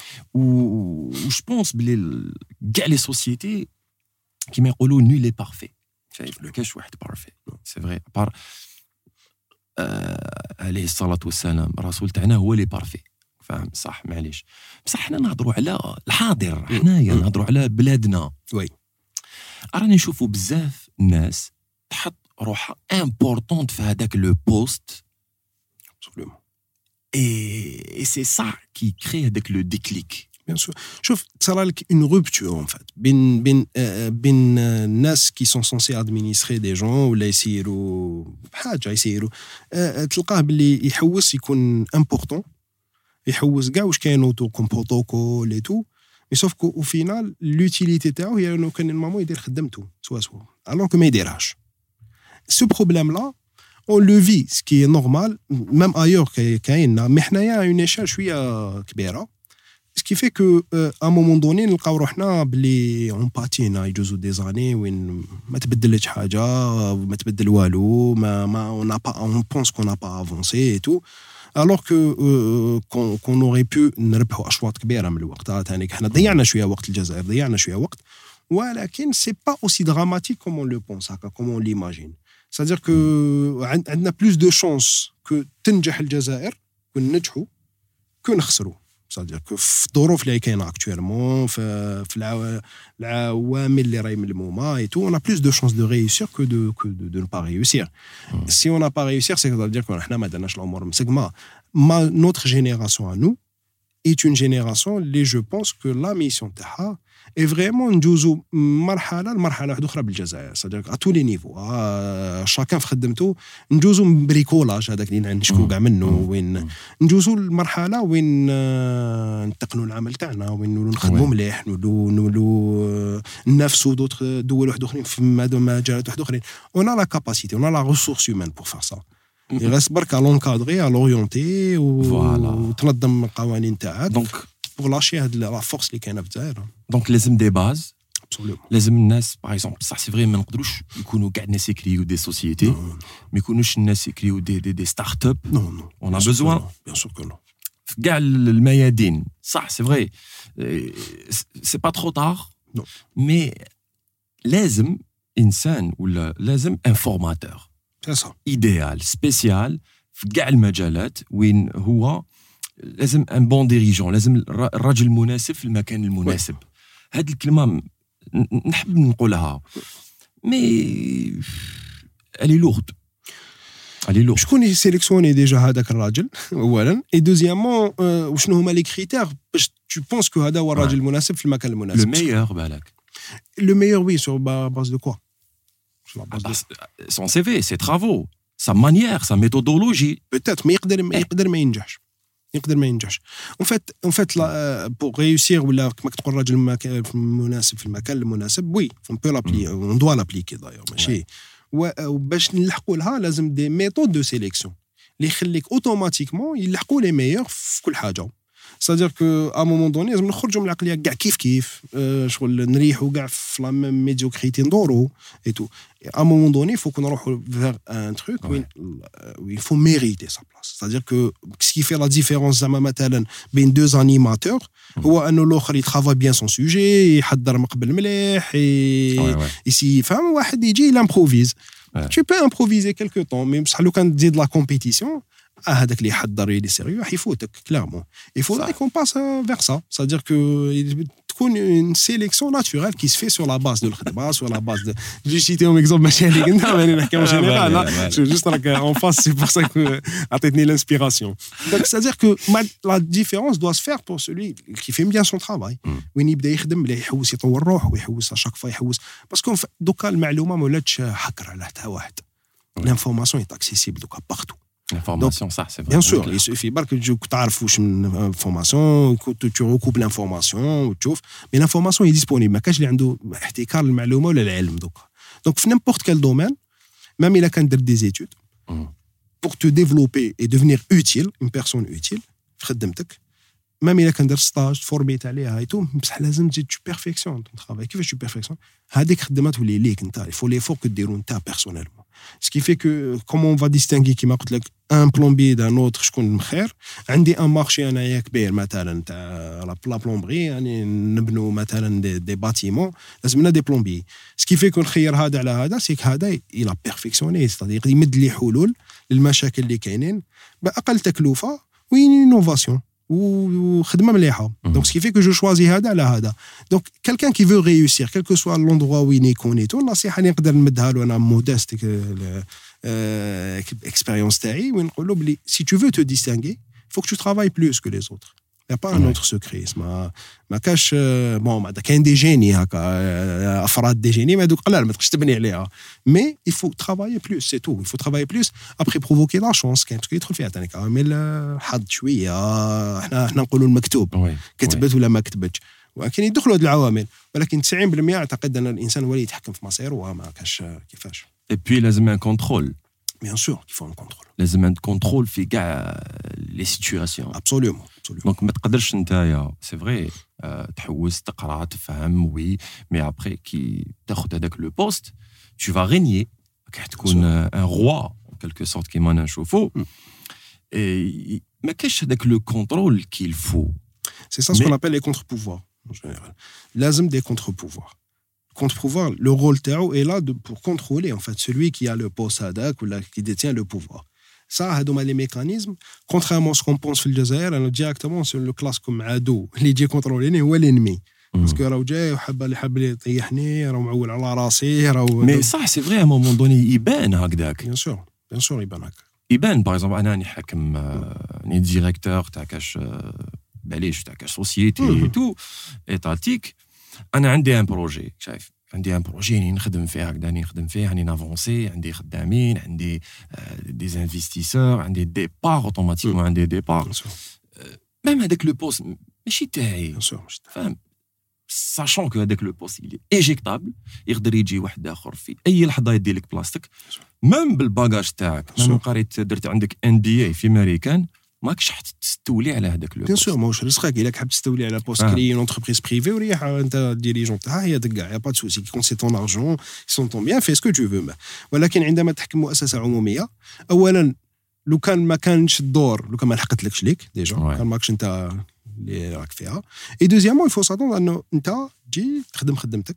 Ou je pense بلي كاع les sociétés كيما يقولوا nul est parfait. شايف ما كاش واحد parfait. C'est vrai. À part عليه الصلاة والسلام الرسول تاعنا هو اللي parfait. فاهم صح معليش. بصح حنا نهضروا على الحاضر حنايا نهضروا على بلادنا. وي. راني نشوفوا بزاف الناس تحط روحها امبورطونت في هذاك لو بوست absolument et et c'est ça qui crée هذاك لو ديكليك bien sûr شوف تصرى لك une rupture en fait بين بين بين الناس qui sont censés administrer des gens ولا يسيروا حاجه يسيروا تلقاه باللي يحوس يكون important يحوس كاع واش كاين اوتو كوم بروتوكول اي تو مي سوف كو au final l'utilité تاعو هي انه كان المامو يدير خدمته سوا سوا alors que ما يديرهاش. Ce problème-là, on le vit, ce qui est normal, même ailleurs كاين mais حنايا à une échelle شويه كبيره. Ce qui fait que à un moment donné نلقاو روحنا بلي on patine يجوزوا des années وين ما تبدلش حاجه ما تبدل والو ما ما on n'a pas on pense qu'on n'a pas avancé et tout alors que euh, qu'on, qu'on aurait pu نربحوا اشواط كبيره من الوقت ثاني حنا ضيعنا شويه وقت الجزائر ضيعنا شويه وقت ولكن c'est pas aussi dramatique comme on le pense, comme on l'imagine. C'est-à-dire que عندنا plus de chances que تنجح الجزائر وننجحوا que نخسروا. C'est-à-dire que في الظروف اللي كاينه actuellement في في العوامل اللي راهي ملمومه et tout, on a plus de chances de réussir que de que de, de ne pas réussir. Mm. Si on n'a pas réussir, c'est à dire que احنا ما درناش الامور مسقمه. Notre génération à nous est une génération اللي je pense que la mission تاعها est vraiment نجوزو مرحله لمرحله واحده اخرى بالجزائر. C'est-à-dire à tous les niveaux. آه chacun في خدمته نجوزو من بريكولاج هذاك اللي نشكو كاع منه وين نجوزو المرحله وين آه نتقنوا العمل تاعنا وين نخدموا مليح نولوا نولوا ننافسوا دوطخ دول واحد اخرين في مجالات واحد اخرين. On a la capacité, on a la ressource humaine pour faire ça. Il reste برك à l'encadrer, à l'orienter وتنظم القوانين تاعك. Donc pour lâcher la force اللي كاينه في الجزائر. Donc لازم des bases. Absolument. لازم الناس par exemple ça c'est vrai ما نقدروش يكونوا كاع الناس يكريو des sociétés. ما يكونوش الناس يكريو des des des start-up. Non non. On a besoin. Bien sûr que non. في كاع الميادين. صح c'est vrai. C'est pas trop tard. Non. Mais لازم إنسان ولا لازم un formateur. C'est ça. idéal, spécial في كاع المجالات وين هو لازم ان بون ديريجون، لازم الراجل المناسب في المكان المناسب. هذه الكلمه نحب نقولها مي الي لورد الي لورد. شكون يسيليكسيوني ديجا هذاك الراجل اولا اي دوزيامون وشنو هما لي كريتير باش تو بونس كو هذا هو الراجل المناسب في المكان المناسب؟ لو ميور بالك. لو ميور وي سور باز دو كوا؟ son C V, ses travaux, sa manière, sa méthodologie. Peut-être, mais يقدر ما يقدر ما ينجحش. يقدر ما ينجحش. En fait, en fait, pour réussir ولا كما تقول الراجل المناسب في المكان المناسب، oui, on peut l'appliquer, on doit l'appliquer d'ailleurs. ماشي وباش نلحقوا لها لازم des méthodes de sélection اللي يخليك اوتوماتيكمون يلحقوا لي ميور في كل حاجه. C'est-à-dire que à un moment donné لازم نخرجوا من العقليه كاع كيف كيف شغل نريحوا كاع في لا ميم ميديوكريتي ندورو اي تو. À un moment donné, il faut qu'on aille vers un truc où, ouais. où il faut mériter sa place. C'est-à-dire que ce qui fait la différence entre deux animateurs, هو أنه الآخر يترافاي bien son sujet, يحضر مقبل مليح, et si فهم واحد يجي il improvise. Tu peux improviser quelque temps, mais بصح لو كان تزيد la compétition, هذاك اللي يحضر اللي سيريو يفوتك clairement. Il faudrait qu'on passe vers ça. C'est-à-dire que تكون une sélection naturelle qui se fait sur la base de الخدمة, sur la base de... J'ai cité un exemple ماشي اللي قلنا ماني نحكي en général là. Je juste راك en face, c'est pour ça que عطيتني l'inspiration. Donc c'est-à-dire que la différence doit se faire pour celui qui fait bien son travail. وين يبدا يخدم مليح يحوس يطور روحه ويحوس à chaque fois يحوس parce que دوكا المعلومة ما ولاتش حكر على حتى واحد. L'information est accessible دوكا partout. L'information, ça, c'est vrai. Bien sûr, il suffit pas que tu aies une information, que tu recoupes l'information, mais l'information est disponible. Mais quand il y a un احتكار المعلومة ولا العلم دوكا. Donc, في n'importe quel domaine, même il a qu'à faire des études, pour te développer et devenir utile, une personne utile, في خدمتك, même il a qu'à faire stage, former عليها et tout, بصح لازم تزيد tu perfectionnes ton travail. كيفاش tu perfectionnes؟ هذيك خدمات ولي ليك انت. Il faut l'effort que ديرو انت personnellement. Ce qui fait que, comment on va distinguer qui m'a dit un plombier d'un autre, je connais مخير. عندي un marché أنا كبير مثلا تاع la plomberie, يعني نبنوا مثلا des, des bâtiments, لازمنا des plombiers. Ce qui fait que نخير هذا على هذا, c'est que هذا il a perfectionné, c'est-à-dire يمد لي حلول للمشاكل اللي كاينين بأقل تكلفة وين innovation. وخدمه مليحه. Donc ce qui fait que je choisis هذا على هذا. Donc quelqu'un qui veut réussir quel que soit l'endroit où il يكون et tout, النصيحه اللي نقدر نمدها له انا مودست expérience تاعي وين نقول له بلي si tu veux te distinguer, il faut que tu travailles plus que les autres. Il n'y a pas un autre secret. ما ما كاش bon ما كاين دي جيني هكا افراد دي جيني ما دوك قلال ما تقدرش تبني عليها. Mais il faut travailler plus, c'est tout. Il faut travailler plus. Après provoquer la chance كاين تقدر يدخل فيها ثاني كامل الحظ شويه. احنا احنا نقولوا المكتوب كتبت ولا ما كتبتش. ولكن يدخلوا هذه العوامل. ولكن تسعين بالمئة اعتقد ان الانسان هو اللي يتحكم في مصيره وما كاش كيفاش. Et puis لازم un contrôle. Bien sûr qu'il faut un contrôle. لازم un contrôle في كاع les situations. Absolument. Donc ما تقدرش نتايا سي فري تحوس تقرا تفهم وي مي ابري كي تاخذ هذاك لو بوست tu vas régner راح تكون un roi en quelque sorte كيما نشوفوا et ما كاش هذاك لو كونترول qu'il faut. C'est ça ce qu'on appelle les contre-pouvoirs en général. لازم des contre-pouvoirs. contre-pouvoir, le rôle تاعو est là de, pour contrôler en fait celui qui a le poste هذاك ou qui détient le pouvoir. Ça, هادوما les mécanismes, contrairement à ce qu'on pense في الجزائر, أنا directement sur le classe comme عدو اللي يجي كونتروليني هو l'ennemi. باسكو راهو جاي وحاب اللي حاب اللي يطيحني راهو معول على راسي راهو. مي صح سي فري ا مومون دوني يبان هكذاك. بيان سور بيان سور يبان هكا. يبان باغ اكزومبل انا راني حاكم راني ديريكتور تاع كاش معليش تاع كاش سوسيتي تو ايتاتيك. انا عندي ان بروجي شايف عندي ان بروجي راني نخدم فيه هكذا راني نخدم فيه راني نافونسي عندي خدامين عندي دي انفستيسور عندي دي بار اوتوماتيكمون عندي دي بار ميم هذاك لو بوست ماشي تاعي فاهم sachant que هذاك لو بوست il est éjectable يقدر يجي واحد اخر في اي لحظه يدي لك بلاصتك ميم بالباجاج تاعك ميم قريت درت عندك ان بي اي في امريكان ماكش تستولي على هذاك لو بيان سور ماهوش رزقك الا حاب تستولي على بوست كري اون انتربريز بريفي وريح انت ديريجون تاعها هي دكا يا با دو سوسي كون سي طون ارجون سون طون بيان في سكو تو فو. ولكن عندما تحكم مؤسسه عموميه اولا لو كان ما كانش الدور لو كان ما لحقتلكش ليك ديجا كان ماكش انت اللي راك فيها اي دوزيامون يفو ساتون انه انت تجي تخدم خدمتك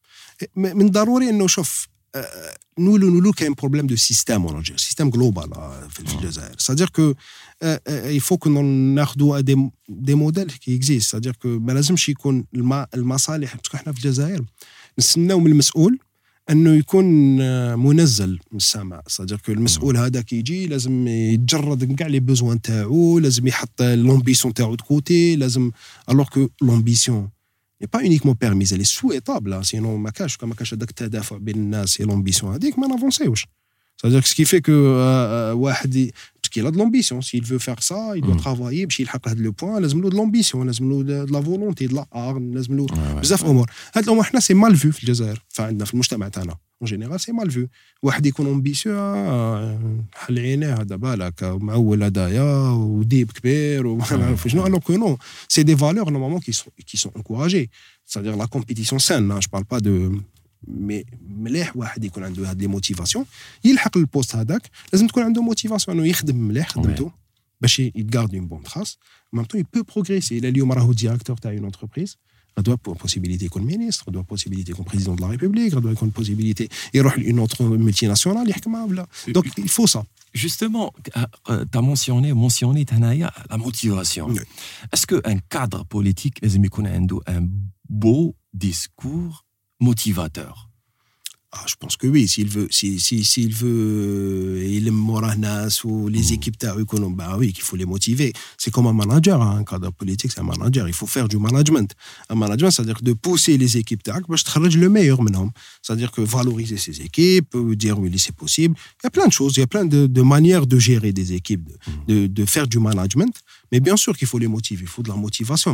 من ضروري انه شوف نولو نولو كاين بروبليم دو سيستيم اون سيستيم جلوبال في الجزائر سادير كو il faut que ناخذوا دي دي موديل كي اكزيست سادير كو ما لازمش يكون المصالح باسكو حنا في الجزائر نستناو من المسؤول انه يكون منزل من السماء سادير كو المسؤول هذا كي يجي لازم يتجرد كاع لي بوزوان تاعو لازم يحط لومبيسيون تاعو دكوتي لازم الوغ كو لومبيسيون n'est pas uniquement permise elle est souhaitable sinon ما كاش ما كاش هذاك التدافع بين الناس et l'ambition هذيك ما نافونسيوش c'est-à-dire que ce qui fait que واحد parce qu'il a de l'ambition s'il veut faire ça il doit travailler باش يلحق هذا لو بوين لازم له de l'ambition لازم له de la volonté de la arme لازم له بزاف امور هاد الامور حنا سي مال فيو في الجزائر فعندنا في المجتمع تاعنا en général c'est mal vu واحد يكون امبيسيو حل عينيه هذا بالك معول هدايا وديب كبير وما نعرف شنو alors que non c'est des valeurs normalement qui sont qui sont encouragées c'est-à-dire la compétition saine je parle pas de mais مليح واحد يكون عنده هاد لي موتيفاسيون يلحق البوست هذاك لازم تكون عنده موتيفاسيون انه يخدم مليح خدمته باش يغارد اون بون تراس en même temps il peut progresser الى اليوم راهو ديريكتور تاع اون انتربريز il doit avoir possibilité comme ministre, il doit avoir possibilité comme président de la République, il doit avoir une possibilité et une autre multinationale donc il faut ça. Justement, tu as mentionné mentionné la motivation. Oui. Est-ce qu'un cadre politique a un beau discours motivateur? Ah, je pense que oui, s'il veut, si, si, s'il veut, il aime Moranas ou les mmh. équipes économiques, bah oui, qu'il faut les motiver. C'est comme un manager, hein, un cadre politique, c'est un manager. Il faut faire du management. Un management, c'est-à-dire de pousser les équipes bah, je travaille le meilleur maintenant. C'est-à-dire que valoriser ces équipes, dire oui, c'est possible. Il y a plein de choses, il y a plein de, de manières de gérer des équipes, de, mmh. de, de faire du management. Mais bien sûr qu'il faut les motiver, il faut de la motivation.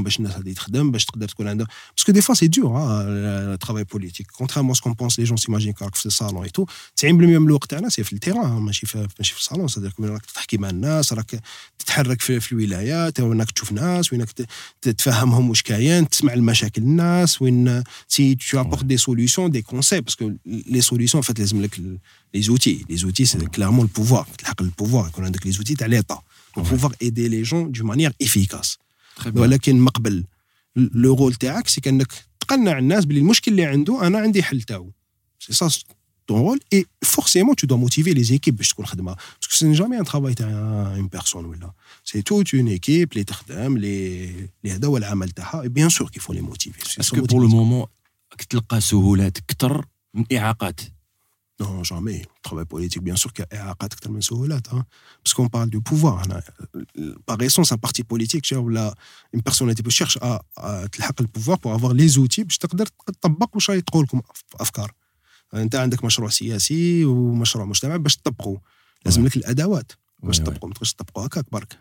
Parce que des fois, c'est dur, hein, le travail politique. Contrairement à ce qu'on pense, les gens s'imaginent في الصالون ايتو تسعين بالمية من الوقت تاعنا سي في التيران ماشي في ماشي في الصالون صدق راك تحكي مع الناس راك تتحرك في, في الولايات وينك تشوف ناس وينك تتفهمهم واش كاين تسمع المشاكل الناس وين سي تو ابورت دي سوليوشن دي كونسيبت باسكو لي سوليوشن فات لازم لك لي زوتي لي زوتي سي كلارمون البوفوار تلحق البوفوار يكون عندك لي زوتي تاع ليطا بوفوار ايدي لي جون دو مانيير افيكاس ولكن ما قبل لو رول تاعك سي كانك تقنع الناس بلي المشكل اللي عنده انا عندي حل تاعو. C'est ça ton rôle et forcément tu dois motiver les équipes باش تكون خدمه parce que ce n'est jamais un travail تاع une personne ولا c'est toute une équipe les تخدم les les هذا هو العمل تاعها et bien sûr qu'il faut les motiver. Est-ce que pour le moment تلقى سهولات اكثر من اعاقات؟ Non, jamais. Le travail politique, bien sûr, qu'il y a إعاقات أكثر من سهولات, hein. Parce qu'on parle du pouvoir. Par essence, un parti politique, là, une personnalité qui cherche à, à تلحق le pouvoir pour avoir les outils باش تقدر تطبق واش يقول لكم أفكار. انت عندك مشروع سياسي ومشروع مجتمعي باش تطبقوا لازم لك الادوات باش تطبقوا ما تقدرش تطبقوا هكاك برك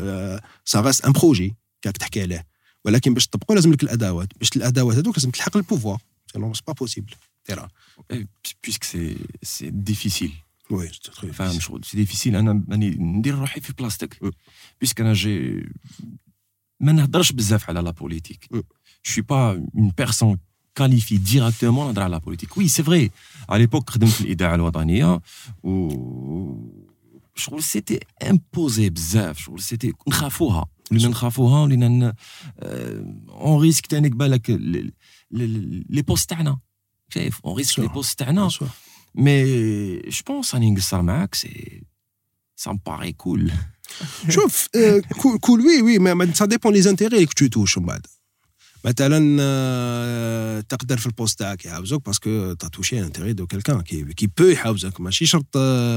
سا غاست ان بروجي كاك تحكي عليه ولكن باش تطبقوا لازم لك الادوات باش الادوات هذوك لازم تلحق البوفوار سينو سي با بوسيبل ترى بيسك سي سي ديفيسيل وي فاهم شغل سي ديفيسيل انا راني ندير روحي في بلاصتك بيسك انا جي ما نهضرش بزاف على لا بوليتيك je suis pas une personne qualifie directement نهضر على البوليتيك. وي سي فري على ليبوك خدمت في الاذاعه الوطنيه و شغل سيتي امبوزي بزاف شغل سيتي نخافوها ولينا نخافوها ولينا اون ريسك تاني بالك لي بوست تاعنا شايف on risque les postes تاعنا mais je pense اني نقصر معاك سي ça me paraît cool. شوف cool cool oui oui mais ça dépend les intérêts que tu touches من بعد. مثلا تقدر في البوست تاعك يحاوزوك باسكو تا توشي انتيري دو كيلكان كي كي بو يحاوزك ماشي شرط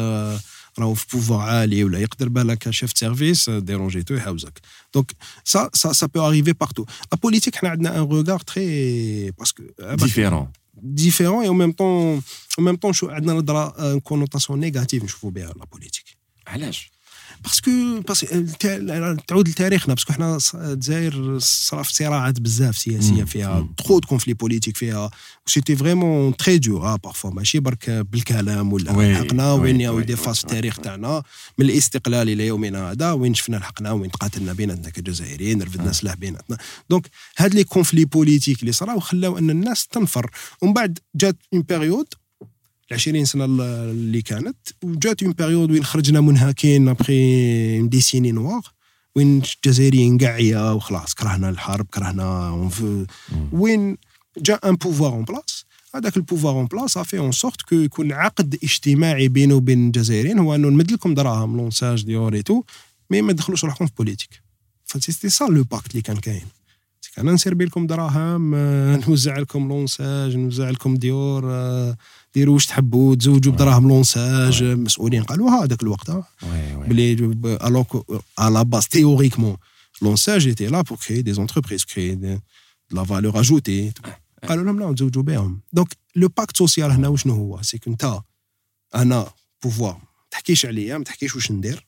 راهو في بوفوار عالي ولا يقدر بالك شيف سيرفيس ديرونجيتو يحاوزك دونك سا سا سا بو اريفي بارتو لا بوليتيك حنا عندنا ان روغار تري باسكو ديفيرون ديفيرون اي même temps en même temps شو عندنا نظره كونوتاسيون نيجاتيف نشوفوا بها لا بوليتيك. علاش؟ باسكو باسكو تعود لتاريخنا باسكو حنا الجزائر صرا في صراعات بزاف سياسيه فيها ترو دو كونفلي بوليتيك فيها سيتي فريمون تري دور بارفو ماشي برك بالكلام ولا حقنا وين ياو دي فاس في التاريخ تاعنا من الاستقلال الى يومنا هذا وين شفنا الحقنا وين تقاتلنا بيناتنا كجزائريين رفدنا سلاح بيناتنا. دونك هاد لي كونفلي بوليتيك اللي صراو خلاو ان الناس تنفر ومن بعد جات اون بيريود العشرين سنة اللي كانت وجات اون بيريود وين خرجنا منهكين ابخي دي سيني نوار وين الجزائريين قاعية وخلاص كرهنا الحرب كرهنا وين جاء ان بوفوار اون بلاص. هذاك البوفوار اون بلاص افي اون سورت كو يكون عقد اجتماعي بينه وبين الجزائريين هو انه نمد لكم دراهم لونساج ديور اي تو مي ما تدخلوش روحكم في بوليتيك. فسيتي سا لو باكت اللي كان كاين انا نسربي لكم دراهم نوزع لكم لونساج نوزع لكم ديور ديروا واش تحبوا تزوجوا بدراهم لونساج مسؤولين قالوا هذاك الوقت بلي الوغ على باس تيوريكمون لونساج ايتي لا بور كري دي انتربريز كري دي لا فالور اجوتي قالوا لهم لا نتزوجوا بهم. دونك لو باكت سوسيال هنا وشنو هو سي كنت انا بوفوار ما تحكيش عليا ما تحكيش واش ندير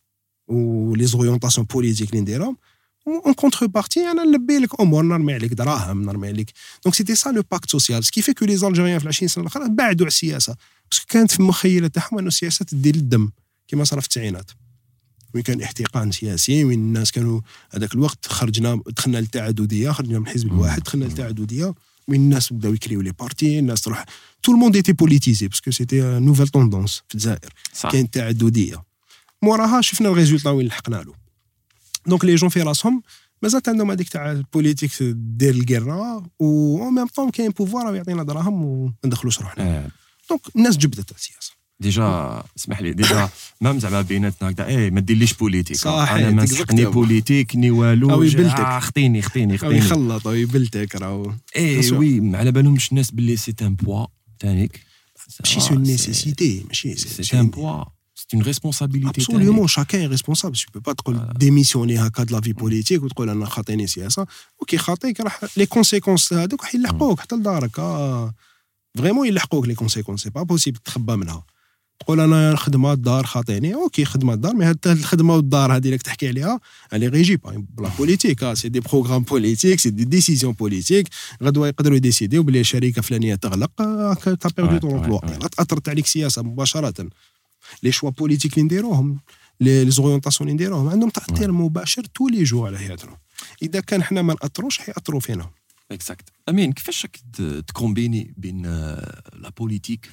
ولي زوريونطاسيون بوليتيك اللي نديرهم en contrepartie انا نلبي لك امور نرمي عليك دراهم نرمي عليك. دونك سيتي سا لو باكت سوسيال سكي في كو لي زالجيريان في العشرين سنه الاخرى بعدوا على السياسه باسكو كانت في المخيله تاعهم انه السياسه تدير الدم كما صار في التسعينات وين كان احتقان سياسي وين الناس كانوا هذاك الوقت خرجنا دخلنا للتعدديه خرجنا من الحزب الواحد دخلنا للتعدديه وين الناس بداو يكريو لي بارتي الناس تروح تو الموند ايتي بوليتيزي باسكو سيتي نوفيل توندونس في الجزائر كاين تعدديه موراها شفنا الريزولطا وين لحقنا له. دونك لي جون في راسهم مازالت عندهم هذيك تاع البوليتيك دير القرا و ميم طون كاين بوفوار يعطينا دراهم وما ندخلوش روحنا. دونك الناس جبدت السياسه ديجا اسمح لي ديجا مام زعما بيناتنا هكذا ايه ما ديرليش بوليتيك انا ما نسحقني بوليتيك ني والو خطيني خطيني خطيني يخلط ويبلتك راهو ايه وي على بالهمش الناس باللي سي ان بوا تانيك ماشي سو نيسيسيتي ماشي سي ان بوا c'est une responsabilité. Absolument, chacun est responsable. Tu ne peux pas te démissionner à de la vie politique ou te dire que tu as fait ça. Ok, les conséquences, ils l'ont حتى لدارك. Vraiment, ils l'ont les conséquences. C'est pas possible de تخبى منها. تقول أنا خدمة الدار خاطيني. أوكي خدمة الدار، mais هاد الخدمة والدار هذه اللي تحكي عليها، elle est régie par la politique. C'est des programmes politiques, c'est des décisions politiques. غدوة يقدروا يديسيديو بلي شركة فلانية تغلق، t'as perdu ton emploi. أثرت عليك سياسة مباشرة. لي شوا بوليتيك اللي نديروهم لي زوريونطاسيون اللي نديروهم عندهم تاثير مباشر تو لي جو على حياتنا. اذا كان حنا ما ناثروش حياثروا فينا. اكزاكت. امين كيفاش تكومبيني بين لا بوليتيك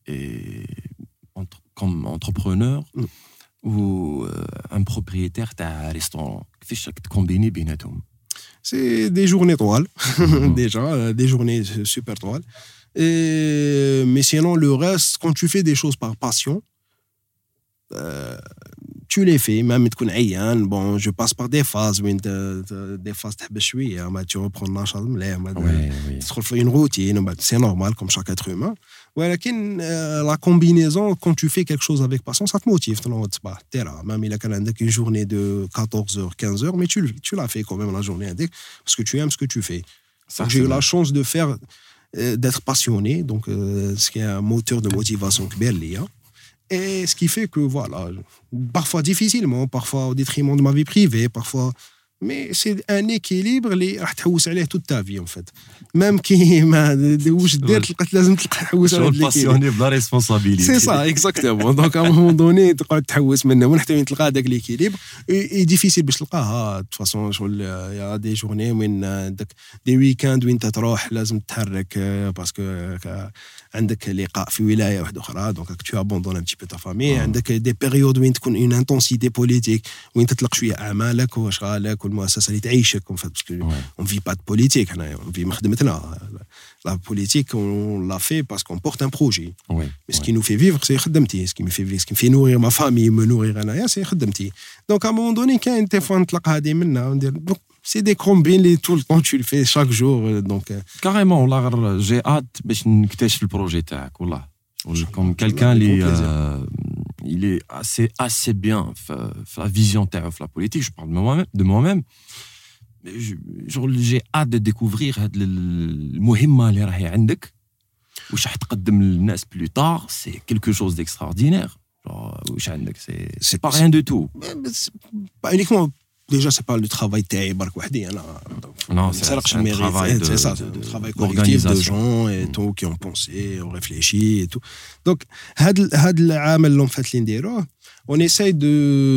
كوم انتربرونور و ان بروبريتير تاع ريستورون كيفاش تكومبيني بيناتهم؟ سي دي جورني طوال ديجا دي جورني سوبر طوال مي سينون لو ريست كون تو في دي شوز بار باسيون tu les fais même تكون عيان bon je passe par des phases وين des phases تحبس شويه ما tu reprends النشاط مليح تدخل في une routine وبعد c'est normal comme chaque être humain ولكن la combinaison quand tu fais quelque chose avec passion ça te motive تنوض الصباح تيرا même إلا كان عندك une journée de quatorze heures quinze heures mais tu tu l'as fait quand même la journée هذيك parce que tu aimes ce que tu fais. J'ai eu la chance de faire d'être passionné donc ce qui est un moteur de motivation كبير ليا. Et ce qui fait que, voilà, parfois difficilement, parfois au détriment de ma vie privée, parfois... Mais c'est un équilibre اللي راح تحوس عليه toute ta vie, en fait. Même كي ما واش دير تلقى لازم تلقى تحوس على هذاك الباسيوني بلا ريسبونسابيلتي. C'est ça, exactement. Donc, à un moment donné, تقعد تحوس منه وحتى وين تلقى هذاك l'équilibre. Et difficile باش تلقاها. De toute façon, شغل يا دي journées وين عندك دي ويكاند وين تروح لازم تتحرك باسكو عندك لقاء في ولايه واحده اخرى دونك tu abandonnes un petit peu ta famille. عندك دي بيريود وين تكون une intensité politique وين تطلق شويه اعمالك واشغالك المؤسسه اللي تعيشك en fait parce que on vit pas de politique حنا on vit مخدمتنا la politique on l'a fait parce qu'on porte un projet oui, mais ce oui. qui nous fait vivre c'est خدمتي ce qui me fait vivre ce qui me fait nourrir ma famille me nourrir انايا c'est خدمتي donc à un moment donné كاين تليفون نطلق هذه منا وندير c'est des combines les tout le temps tu le fais chaque jour donc carrément والله غير j'ai hâte باش نكتشف البروجي تاعك والله comme quelqu'un qui il est assez assez bien la vision تاعو في la politique je parle de moi-même de moi-même genre j'ai hâte de découvrir هاد المهمة اللي راهي عندك واش راح تقدم للناس plus tard c'est quelque chose d'extraordinaire genre واش عندك c'est c'est pas rien du tout pas uniquement déjà c'est pas le travail تاعي برك وحدي انا non c'est un travail de, c'est ça de, un travail collectif de gens et mm. tout qui ont pensé ont réfléchi et tout donc هاد هاد العام اللي فات اللي نديروه on essaye de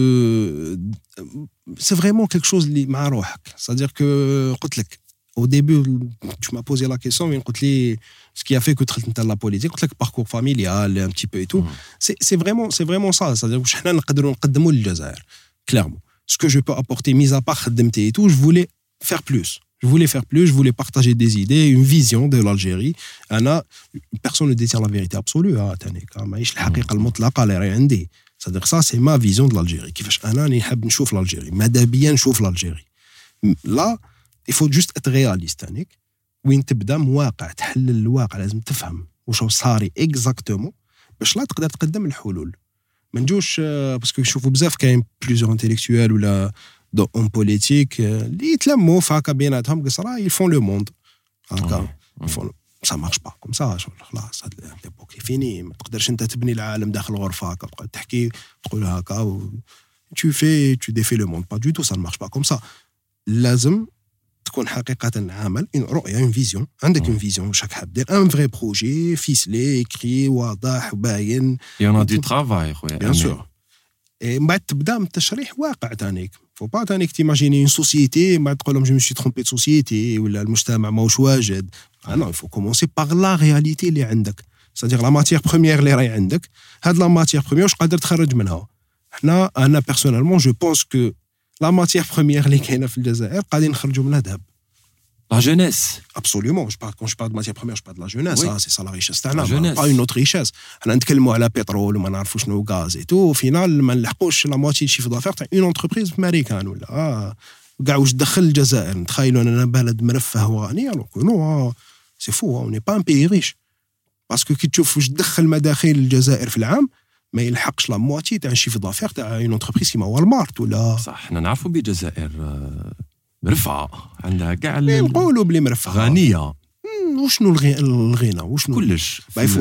c'est vraiment quelque chose اللي مع روحك c'est-à-dire que قلت لك au début tu m'as posé la question mais قلت لي ce qui a fait que دخلت انت la politique قلت لك parcours familial un petit peu et tout mm. c'est c'est vraiment c'est vraiment ça c'est-à-dire واش حنا نقدروا نقدموا للجزائر clairement ce que je peux apporter mis à part خدمتي et tout je voulais faire plus je voulais faire plus je voulais partager des idées une vision de l'Algérie انا personne ne détient la vérité absolue ها تاني ماهيش الحقيقه المطلقه اللي راهي عندي c'est-à-dire ça c'est ma vision de l'Algérie كيفاش انا نحب نشوف l'Algérie ماذا بيا نشوف l'Algérie là il faut juste être réaliste تانيك وين تبدا مواقع تحلل الواقع لازم تفهم واش صاري exactement باش لا تقدر تقدم الحلول ما نجوش باسكو نشوفوا بزاف كاين بليزيور انتيليكتويال ولا دو اون بوليتيك اللي يتلموا فهكا بيناتهم قصرا يفون لو موند هكا يفون سا مارش با كوم سا خلاص هاد ليبوك فيني ما تقدرش انت تبني العالم داخل غرفه هكا تبقى تحكي تقول هكا tu fais tu défais le monde pas du tout ça ne marche pas comme ça لازم تكون حقيقة عمل une رؤية une vision عندك une vision واش راك حاب دير un vrai projet ficelé écrit واضح باين il y en a du travail خويا bien sûr et بعد تبدا من تشريح واقع تانيك faut pas تانيك تيماجيني une société بعد تقول لهم je me suis trompé de société ولا المجتمع ماهوش واجد ah non il faut commencer par la réalité اللي عندك c'est-à-dire la matière première اللي راهي عندك هاد la matière première واش قادر تخرج منها حنا انا personnellement je pense que la matière première اللي كاينه في الجزائر قاعدين نخرجوا منها ذهب la jeunesse absolument je parle quand je parle de matière première je parle de la jeunesse oui. ah, c'est ça la richesse تاعنا pas une autre richesse حنا نتكلموا على بترول وما نعرفوا شنو غاز et tout au final ما نلحقوش la moitié شيف دافير تاع une entreprise امريكان ولا اه كاع واش دخل الجزائر نتخيلوا اننا بلد مرفه وغني alors que non c'est fou on n'est pas un pays riche parce que كي تشوف واش دخل مداخيل الجزائر في العام ما يلحقش لا مواتي تاع الشيف دافير تاع اون انتربريز كيما والمارت ولا صح حنا نعرفوا بالجزائر مرفعه عندها كاع نقولوا بلي مرفعه غنيه وشنو الغنى وشنو كلش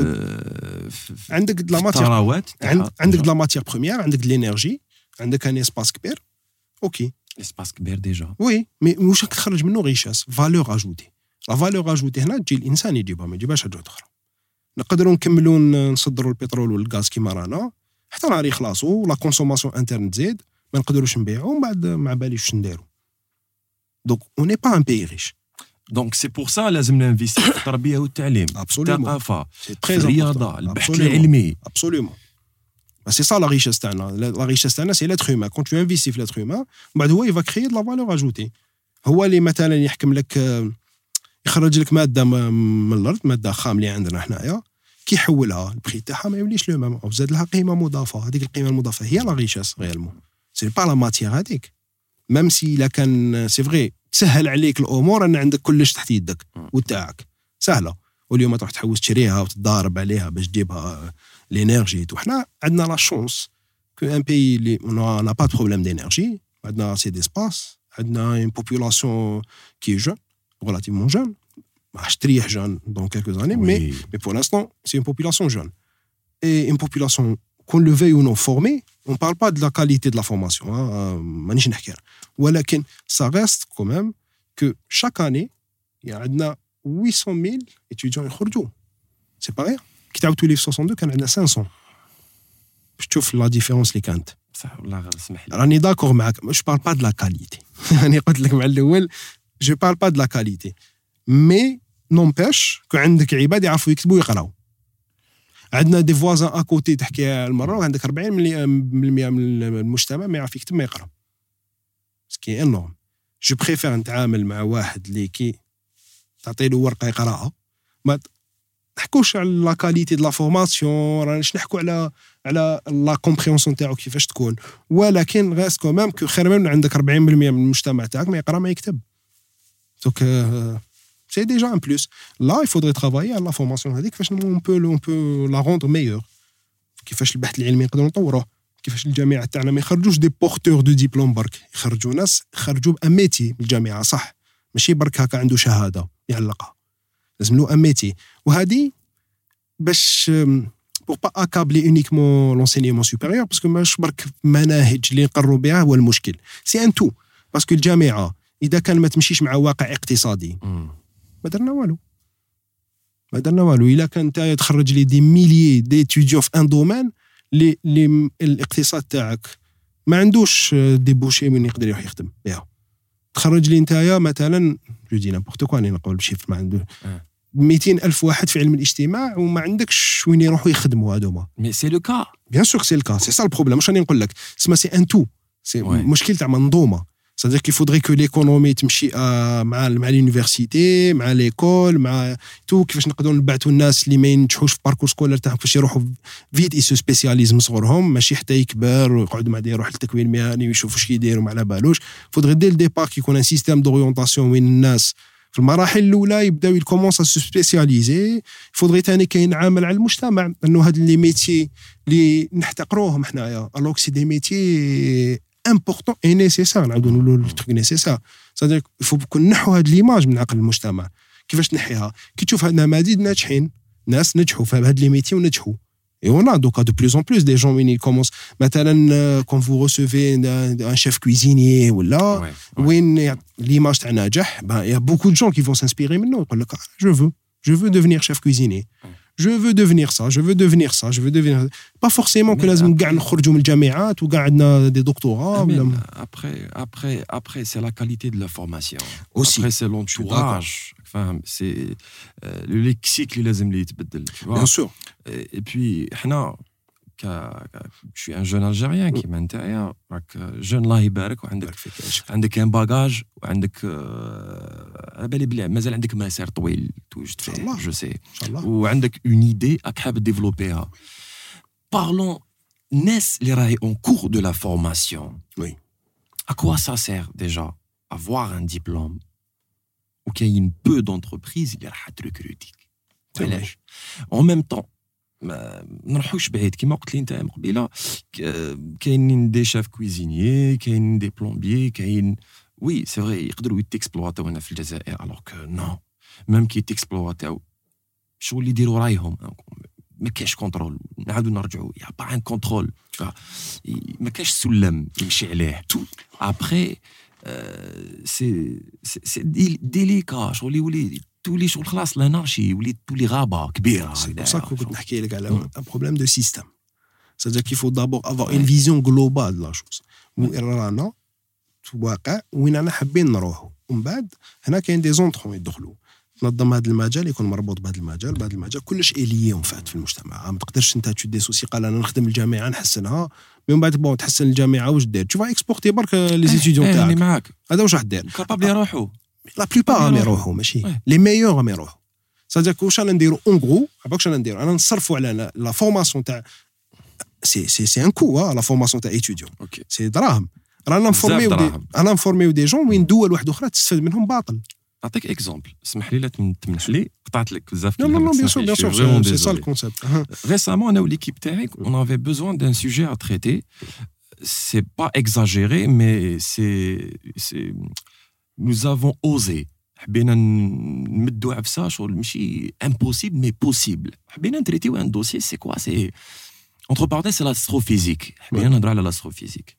عندك لا ماتير عندك لا ماتير بروميير عندك لينيرجي عندك ان اسباس كبير اوكي اسباس كبير ديجا وي مي واش راك تخرج منه ريشاس فالور اجوتي لا فالور اجوتي هنا تجي الانسان يجيبها ما يجيبهاش حاجه اخرى نقدروا نكملوا نصدروا البترول والغاز كيما رانا حتى نهار يخلصوا لا كونسوماسيون انترن تزيد ما نقدروش نبيعوا ومن بعد ما باليش واش نديروا دونك اون ني با ان بي ريش دونك سي بور سا لازم ننفيستي في التربيه والتعليم الثقافه الرياضه البحث العلمي ابسوليومون سي سا لا ريشيس تاعنا لا ريشيس تاعنا سي لاتر هيومان كون تو انفيستي في لاتر هيومان بعد هو يفا كريي دو لا فالور اجوتي هو اللي مثلا يحكم لك يخرج لك ماده من الارض ماده خام اللي عندنا حنايا كي يحولها البري تاعها ما يوليش لو ميم وزاد لها قيمه مضافه هذيك القيمه المضافه هي لا ريشيس ريالمون سي با لا ماتيير هذيك ميم سي لا كان سي فري تسهل عليك الامور ان عندك كلش تحت يدك وتاعك سهله واليوم تروح تحوس تشريها وتضارب عليها باش تجيبها لينيرجي وحنا عندنا لا شونس كو ان بي اللي انا با بروبليم دينيرجي عندنا سي ديسباس عندنا اون بوبولاسيون كي جون relativement jeune je تريح jeune dans quelques années oui. mais mais pour l'instant c'est une population jeune et une population qu'on le veuille ou non formée on parle pas de la qualité de la formation مانيش نحكي ولكن ça reste quand même que chaque année il y a عندنا huit cent mille étudiants يخرجوا c'est pas rien كي تعاودوا لي في ستة وستين كان عندنا cinq cents باش تشوف لا ديفيرونس اللي كانت صح والله غير اسمح لي راني داكور معاك je parle pas de la qualité يعني قلت لك مع الاول je parle pas de la qualité mais n'empêche que عندك عباد يعرفوا يكتبوا ويقراوا عندنا دي فوازان ا كوتي تحكي المره وعندك أربعين بالمئة من المجتمع ما يعرف يكتب ما يقرا سكي انورم جو بريفير نتعامل مع واحد اللي كي تعطي له ورقه يقراها. ما نحكوش على لا كاليتي د لا فورماسيون، راناش نحكوا على على لا كومبريونسيون تاعو كيفاش تكون، ولكن غاس كومام كو خير من عندك أربعين بالمية من المجتمع تاعك ما يقرا ما يكتب. دونك سي ديجا ان بلوس. لا il faudrait travailler على لا فورماسيون هذيك كيفاش اون بو اون بو لا روندر ميور، كيفاش البحث العلمي نقدروا نطوروه، كيفاش الجامعات تاعنا ما يخرجوش دي بورتور دو ديبلوم برك، يخرجوا ناس خرجوا بان ميتي من الجامعه صح، ماشي برك هكا عنده شهاده يعلقها، لازم له ان ميتي. وهذه باش pour pas accabler uniquement l'enseignement supérieur parce que ماش برك مناهج اللي نقروا بها هو المشكل، سي ان تو باسكو الجامعه اذا كان ما تمشيش مع واقع اقتصادي ما درنا والو، ما درنا والو. الا كان انت تخرج لي دي ميليي ديتوديون في ان دومين اللي اللي الاقتصاد تاعك ما عندوش ديبوشي من يقدر يروح يخدم بها، تخرج لي نتايا مثلا جو دي نابورت كو، راني نقول بشيفر ما عنده مئتين ألف واحد في علم الاجتماع وما عندكش وين يروحوا يخدموا هذوما. مي سي لو كا بيان سور سي لو كا، سي سا البروبليم. واش راني نقول لك سما سي ان تو، سي مشكل تاع منظومه. c'est-à-dire qu'il faudrait que l'économie تمشي مع مع اليونيفرسيتي مع ليكول مع تو، كيفاش نقدروا نبعثوا الناس اللي ما ينجحوش في باركور سكولار تاعهم كيفاش يروحوا فيت يسو سبيسياليزم صغرهم، ماشي حتى يكبر ويقعد مع يروح للتكوين المهني ويشوفوا واش كيديروا ما على بالوش. فودغي دير ديبار كيكون ان سيستيم دوريونطاسيون وين الناس في المراحل الاولى يبداو يكومونس سو سبيسياليزي. فودغي ثاني كاين عامل على المجتمع انه هاد لي ميتي اللي نحتقروهم حنايا الوغ سي دي ميتي important et nécessaire. نعاودوا نقولوا الترك نيسيسار، c'est-à-dire il faut كون نحوا هاد ليماج من عقل المجتمع. كيفاش تنحيها؟ كي تشوف هاد نماذج ناجحين، ناس نجحوا في هاد لي ميتي ونجحوا. Et on a donc de plus en plus des gens qui commencent. Maintenant, quand vous recevez un, un chef cuisinier ou là, où l'image d'un najah, ben il y a beaucoup de gens qui vont s'inspirer maintenant. Je veux, je veux devenir chef cuisinier. Je veux devenir ça, je veux devenir ça, je veux devenir. Pas forcément que لازم قاعد نخرجوا من الجامعات وقاعدنا des doctorats. Après, après, après, c'est la qualité de la formation. Aussi. Après, c'est l'entourage. Enfin, c'est euh, le lexique اللي لازم اللي يتبدل. Tu vois. Bien sûr. Et, et puis, حنا je suis un jeune Algérien qui m'intéresse. راك jeune الله يبارك وعندك عندك un bagage وعندك على بالي بلي مازال عندك مسار طويل توجد فيه جو سي وعندك اون ايدي راك حاب ديفلوبيها. Parlons الناس اللي راهي en cours de la formation. Oui. À quoi ça sert déjà avoir un diplôme وكاين peu d'entreprises اللي راح تريكروتيك. علاش؟ En même temps ما نروحوش بعيد كيما قلت لي انت من قبيله، كاينين دي شاف كويزينيي، كاينين دي بلومبيي، كاين وي سي فري يقدروا يتيكسبلواتاو هنا في الجزائر الوغ كو نو ميم كي يتيكسبلواتاو شغل اللي يديروا رايهم ما كاينش كونترول. نعاودوا نرجعوا يا با ان كونترول، ما كاينش سلم يمشي عليه ابري سي سي ديليكا شغل يولي تولي شغل خلاص لانارشي وليت تولي غابه كبيره. سي بور سا كو كنت نحكي لك على ان بروبليم دو سيستيم. c'est-à-dire qu'il faut d'abord avoir une vision globale de la chose. وين رانا في واقع وين انا حابين نروحوا، ومن بعد هنا كاين دي زونطرون يدخلوا تنظم هذا المجال، يكون مربوط بهذا المجال بهذا المجال كلش اليوم فات في المجتمع. ما تقدرش انت تشدي سوسي قال انا نخدم الجامعه نحسنها من بعد بون تحسن الجامعه واش دير؟ تشوف اكسبورتي برك لي ستوديون تاعك. انا معاك هذا واش راح دير؟ كابابل يروحوا لا بلوبار راهم يروحوا ماشي لي ميور راهم يروحوا. c'est-à-dire واش انا نديرو اون غرو عباك انا نديرو انا نصرفوا على لا فورماسيون تاع سي سي سي ان كو لا فورماسيون تاع ايتوديون سي دراهم. رانا نفورميو دي انا نفورميو دي جون وين دول واحده اخرى تستفاد منهم باطل. نعطيك اكزومبل، اسمح لي لا تمنح لي قطعت لك بزاف. Non, non, non, bien sûr, bien sûr, c'est ça le concept. Récemment, on a l'équipe تاعي, on avait besoin d'un sujet à traiter. C'est pas exagéré, mais c'est, c'est, nous avons osé. حبينا نمدوا عفسه شغل ماشي impossible mais possible. حبينا نتريتيو un dossier, c'est quoi? C'est entre parenthèses, c'est l'astrophysique. حبينا نهضروا على l'astrophysique.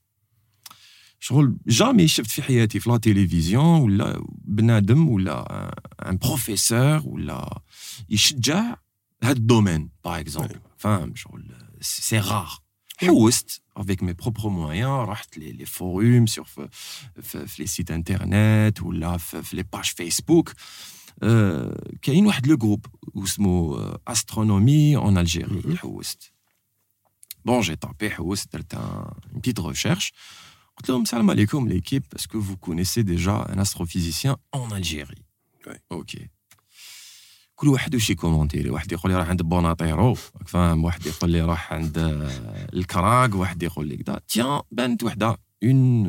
شغل جامي شفت في حياتي في لا تيليفزيون ولا بنادم ولا ان بروفيسور ولا يشجع هاد الدومين باغ اكزومبل. فاهم شغل سي رار. حوست avec mes propres moyens رحت لي لي فوروم سور في في لي سيت انترنت ولا في لي باج فيسبوك. كاين واحد لو جروب اسمه استرونومي اون الجيري. حوست بون جي طابي حوست درت ان بيت ريشيرش. قلت لهم السلام عليكم l'équipe, est-ce que vous connaissez déjà un astrophysicien en Algérie? Ouais. OK. كل واحد وشي كومونتيري, واحد يقول لي راح عند بوناطيرو, فاهم, واحد يقول لي راح عند الكراك, واحد يقول لي كذا. تيان بنت وحده اون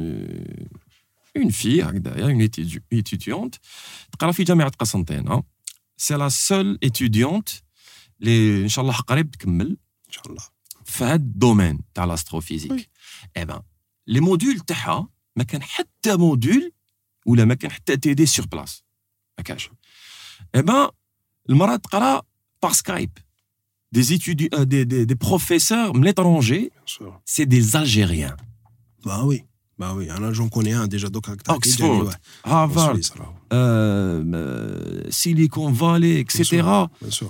اون في هكذايا, اون étudiante تقرا في جامعه قسنطينه. سي لا سول étudiante اللي ان شاء الله قريب تكمل ان شاء الله في هذا الدومين تاع الاستروفيزيك. اي بان لي موديول تاعها ما كان حتى موديول ولا ما كان حتى تي دي سور بلاص, ما كانش. اي بان المراه تقرا par Skype des étudiants, des, des, des professeurs de l'étranger, c'est des Algériens. Bah oui, bah oui, alors j'en connais un déjà, donc Oxford, Harvard, euh, euh, Silicon Valley, et cetera. Bien sûr.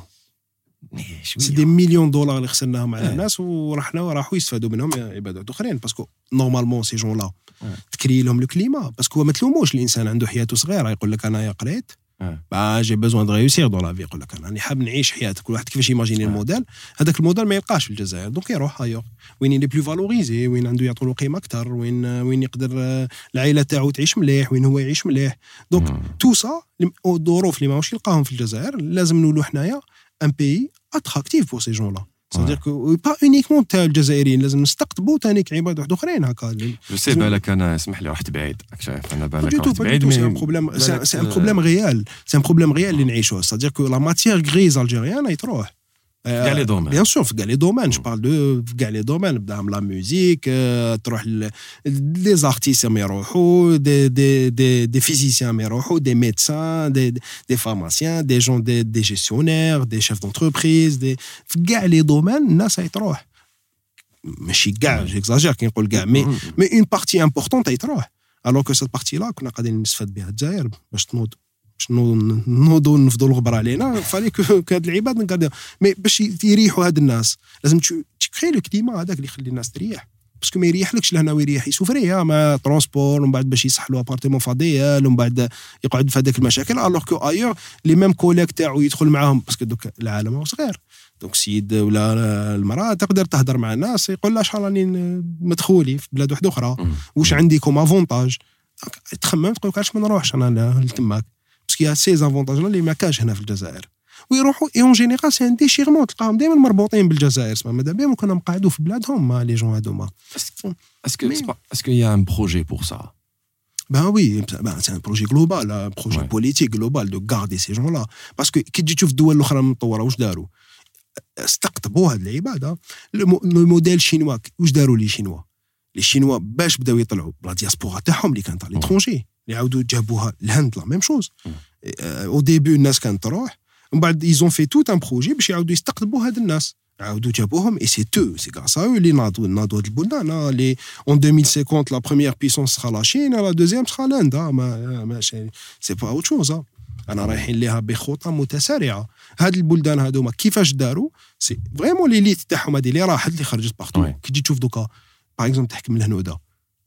C'est des millions de dollars اللي خسرناهم على الناس ورحنا وراحوا يستفادوا منهم عبادات اخرين. باسكو نورمالمون سي جون لا تكري لهم لو كليما, باسكو ما تلوموش الانسان عنده حياته صغيره, يقول لك انا قريت با جي بيزوان دو ريوسير دون لا في, يقول لك انا راني حاب نعيش حياتك. كل واحد كيفاش يماجيني الموديل, هذاك الموديل ما يلقاش في الجزائر, دونك يروح هايور وين يلي بلو فالوريزي, وين عنده يعطوا له قيمه اكثر, وين وين يقدر العائله تاعو تعيش مليح, وين هو يعيش مليح. دونك تو سا الظروف اللي ماهوش يلقاهم في الجزائر لازم نولوا حنايا ان بي اتراكتيف بور سي جون لا. C'est-à-dire que pas uniquement تاع الجزائريين, لازم نستقطبوا ثاني عباد واحد اخرين هكا. جو سي بالك انا اسمح لي رحت بعيد, شايف انا بالك رحت بعيد, مي سي ان بروبليم, سي ان بروبليم ريال, سي ان بروبليم ريال اللي نعيشوه. C'est-à-dire que la matière grise algérienne اي تروح كاع لي دومين, بيان سور في كاع لي دومين. جو بارل دو في كاع لي دومين, بداهم لا ميوزيك, تروح لي زارتيست ما يروحوا, دي دي دي دي فيزيسيان ما يروحوا, دي ميدسان, دي دي فارماسيان, دي جون دي دي جيستيونير, دي شيف دونتربريز, دي في كاع لي دومين الناس هي تروح. ماشي كاع جيكزاجير كي نقول كاع, مي مي اون بارتي امبورطونت هي تروح. الوغ كو سيت بارتي لا كنا قاعدين نستفاد بها الجزائر باش تنوض, باش نوضوا نفضوا الغبر علينا. فالي كو هاد العباد نقدر, مي باش يريحوا هاد الناس لازم تكري لو كليما هذاك اللي يخلي الناس تريح. باسكو ما يريحلكش لهنا ويريح يسوفري ما ترونسبور, ومن بعد باش يصح له ابارتمون فضيال, ومن بعد يقعد في هذاك المشاكل. الوغ كو ايور لي ميم كوليك تاعو يدخل معاهم, باسكو دوك العالم هو صغير. دونك السيد ولا المراه تقدر تهضر مع الناس, يقول لها شحال راني مدخولي في بلاد واحده اخرى, واش عندي كوم افونتاج, تخمم تقول لك علاش ما نروحش انا لتماك, باسكو يا سي زافونتاج اللي ما كاش هنا في الجزائر. ويروحوا اي اون جينيرال سي ان ديشيرمون, تلقاهم دائما مربوطين بالجزائر. اسمع ماذا بهم كنا مقعدوا في بلادهم ما لي جون هذوما. اسكو اسكو يا ان بروجي بور سا؟ Ben oui, ben c'est un projet global, un projet ouais. politique global de garder ces gens-là. Parce que كي تجي تشوف الدول الاخرى متطوره واش داروا؟ استقطبوا هذه العباده. لو موديل شينوا واش داروا لي شينوا؟ لي شينوا باش بداو يطلعوا بلا دياسبورا تاعهم اللي كانت على ليترونجي, اللي عاودوا جابوها الهند لا ميم شوز. او ديبي الناس كانت تروح, ومن بعد ايزون في توت ان بروجي باش يعاودوا يستقطبوا هاد الناس, عاودوا جابوهم. اي سي تو سي غراس ا او اللي ناضوا ناضوا هاد البلدان. لي اون ألفين وخمسين لا بروميير بيسونس سخا لا شين, لا دوزيام سخا الهند. ما ماشي سي با اوت شوز. انا رايحين ليها بخطى متسارعه. هاد البلدان هادوما كيفاش داروا؟ سي فريمون لي ليت تاعهم هادي اللي راحت اللي خرجت بارتو. كي تجي تشوف دوكا باغ اكزومبل تحكم الهنوده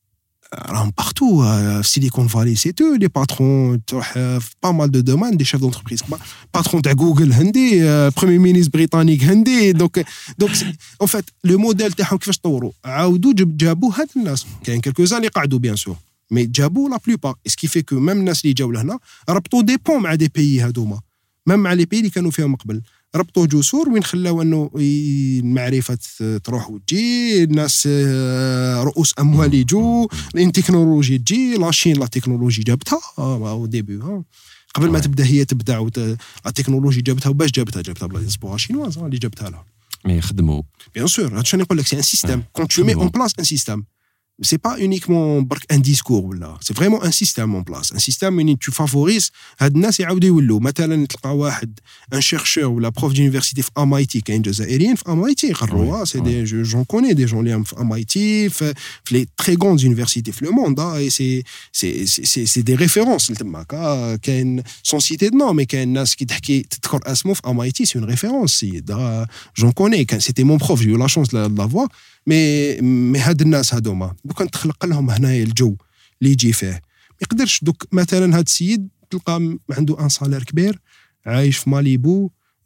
راهم بارتو في سيليكون فالي, سي تو لي باترون تروح في با مال دو دومان دي شيف دونتربريز, باترون تاع جوجل هندي, بروميي مينيستر بريطانيك هندي. دونك دونك اون فيت لو موديل تاعهم كيفاش طوروا, عاودوا جابوا هاد الناس. كاين كلكوزان اللي قعدوا بيان سور, مي جابوا لا بلوبار. اسكي في كو ميم الناس اللي جاوا لهنا ربطوا دي بون مع دي بيي هادوما, ميم مع لي بيي اللي كانوا فيهم قبل, ربطوا جسور وين خلاو انه المعرفه تروح وتجي, الناس رؤوس اموال يجوا, التكنولوجيا تجي, لاشين لا تكنولوجيا جابتها او ديبي قبل ما تبدا هي تبدع. التكنولوجيا جابتها, وباش جابتها جابتها بلا ديسبورا شينواز اللي جابتها لها. مي يخدموا بيان سور. هادشي نقول لك سي ان سيستيم. كون تو مي اون بلاس ان سيستيم, c'est pas uniquement برك ان ديسكور ولا, c'est vraiment un système en place, un système où tu favorises هاد الناس يعاودوا يولوا. مثلا تلقى واحد ان شيرشور ولا بروف دونيفرسيتي في ام اي تي, كاين جزائريين في ام اي تي يقروا, سي دي جون كوني دي جون اللي في ام اي تي, في لي تري غروند يونيفرسيتي في لو موند, اي سي سي سي سي دي ريفيرونس تماك. كاين سون سيتي دو نو, مي كاين ناس كي تحكي تذكر اسمه في ام اي تي, سي اون ريفيرونس سيد جون كوني, كان سيتي مون بروف, جي لا شونس لا فوا. مي مي هاد الناس هادوما دوك تخلق لهم هنايا الجو اللي يجي فيه. ما يقدرش دوك مثلا هاد السيد تلقى عنده ان صالير كبير, عايش في ماليبو,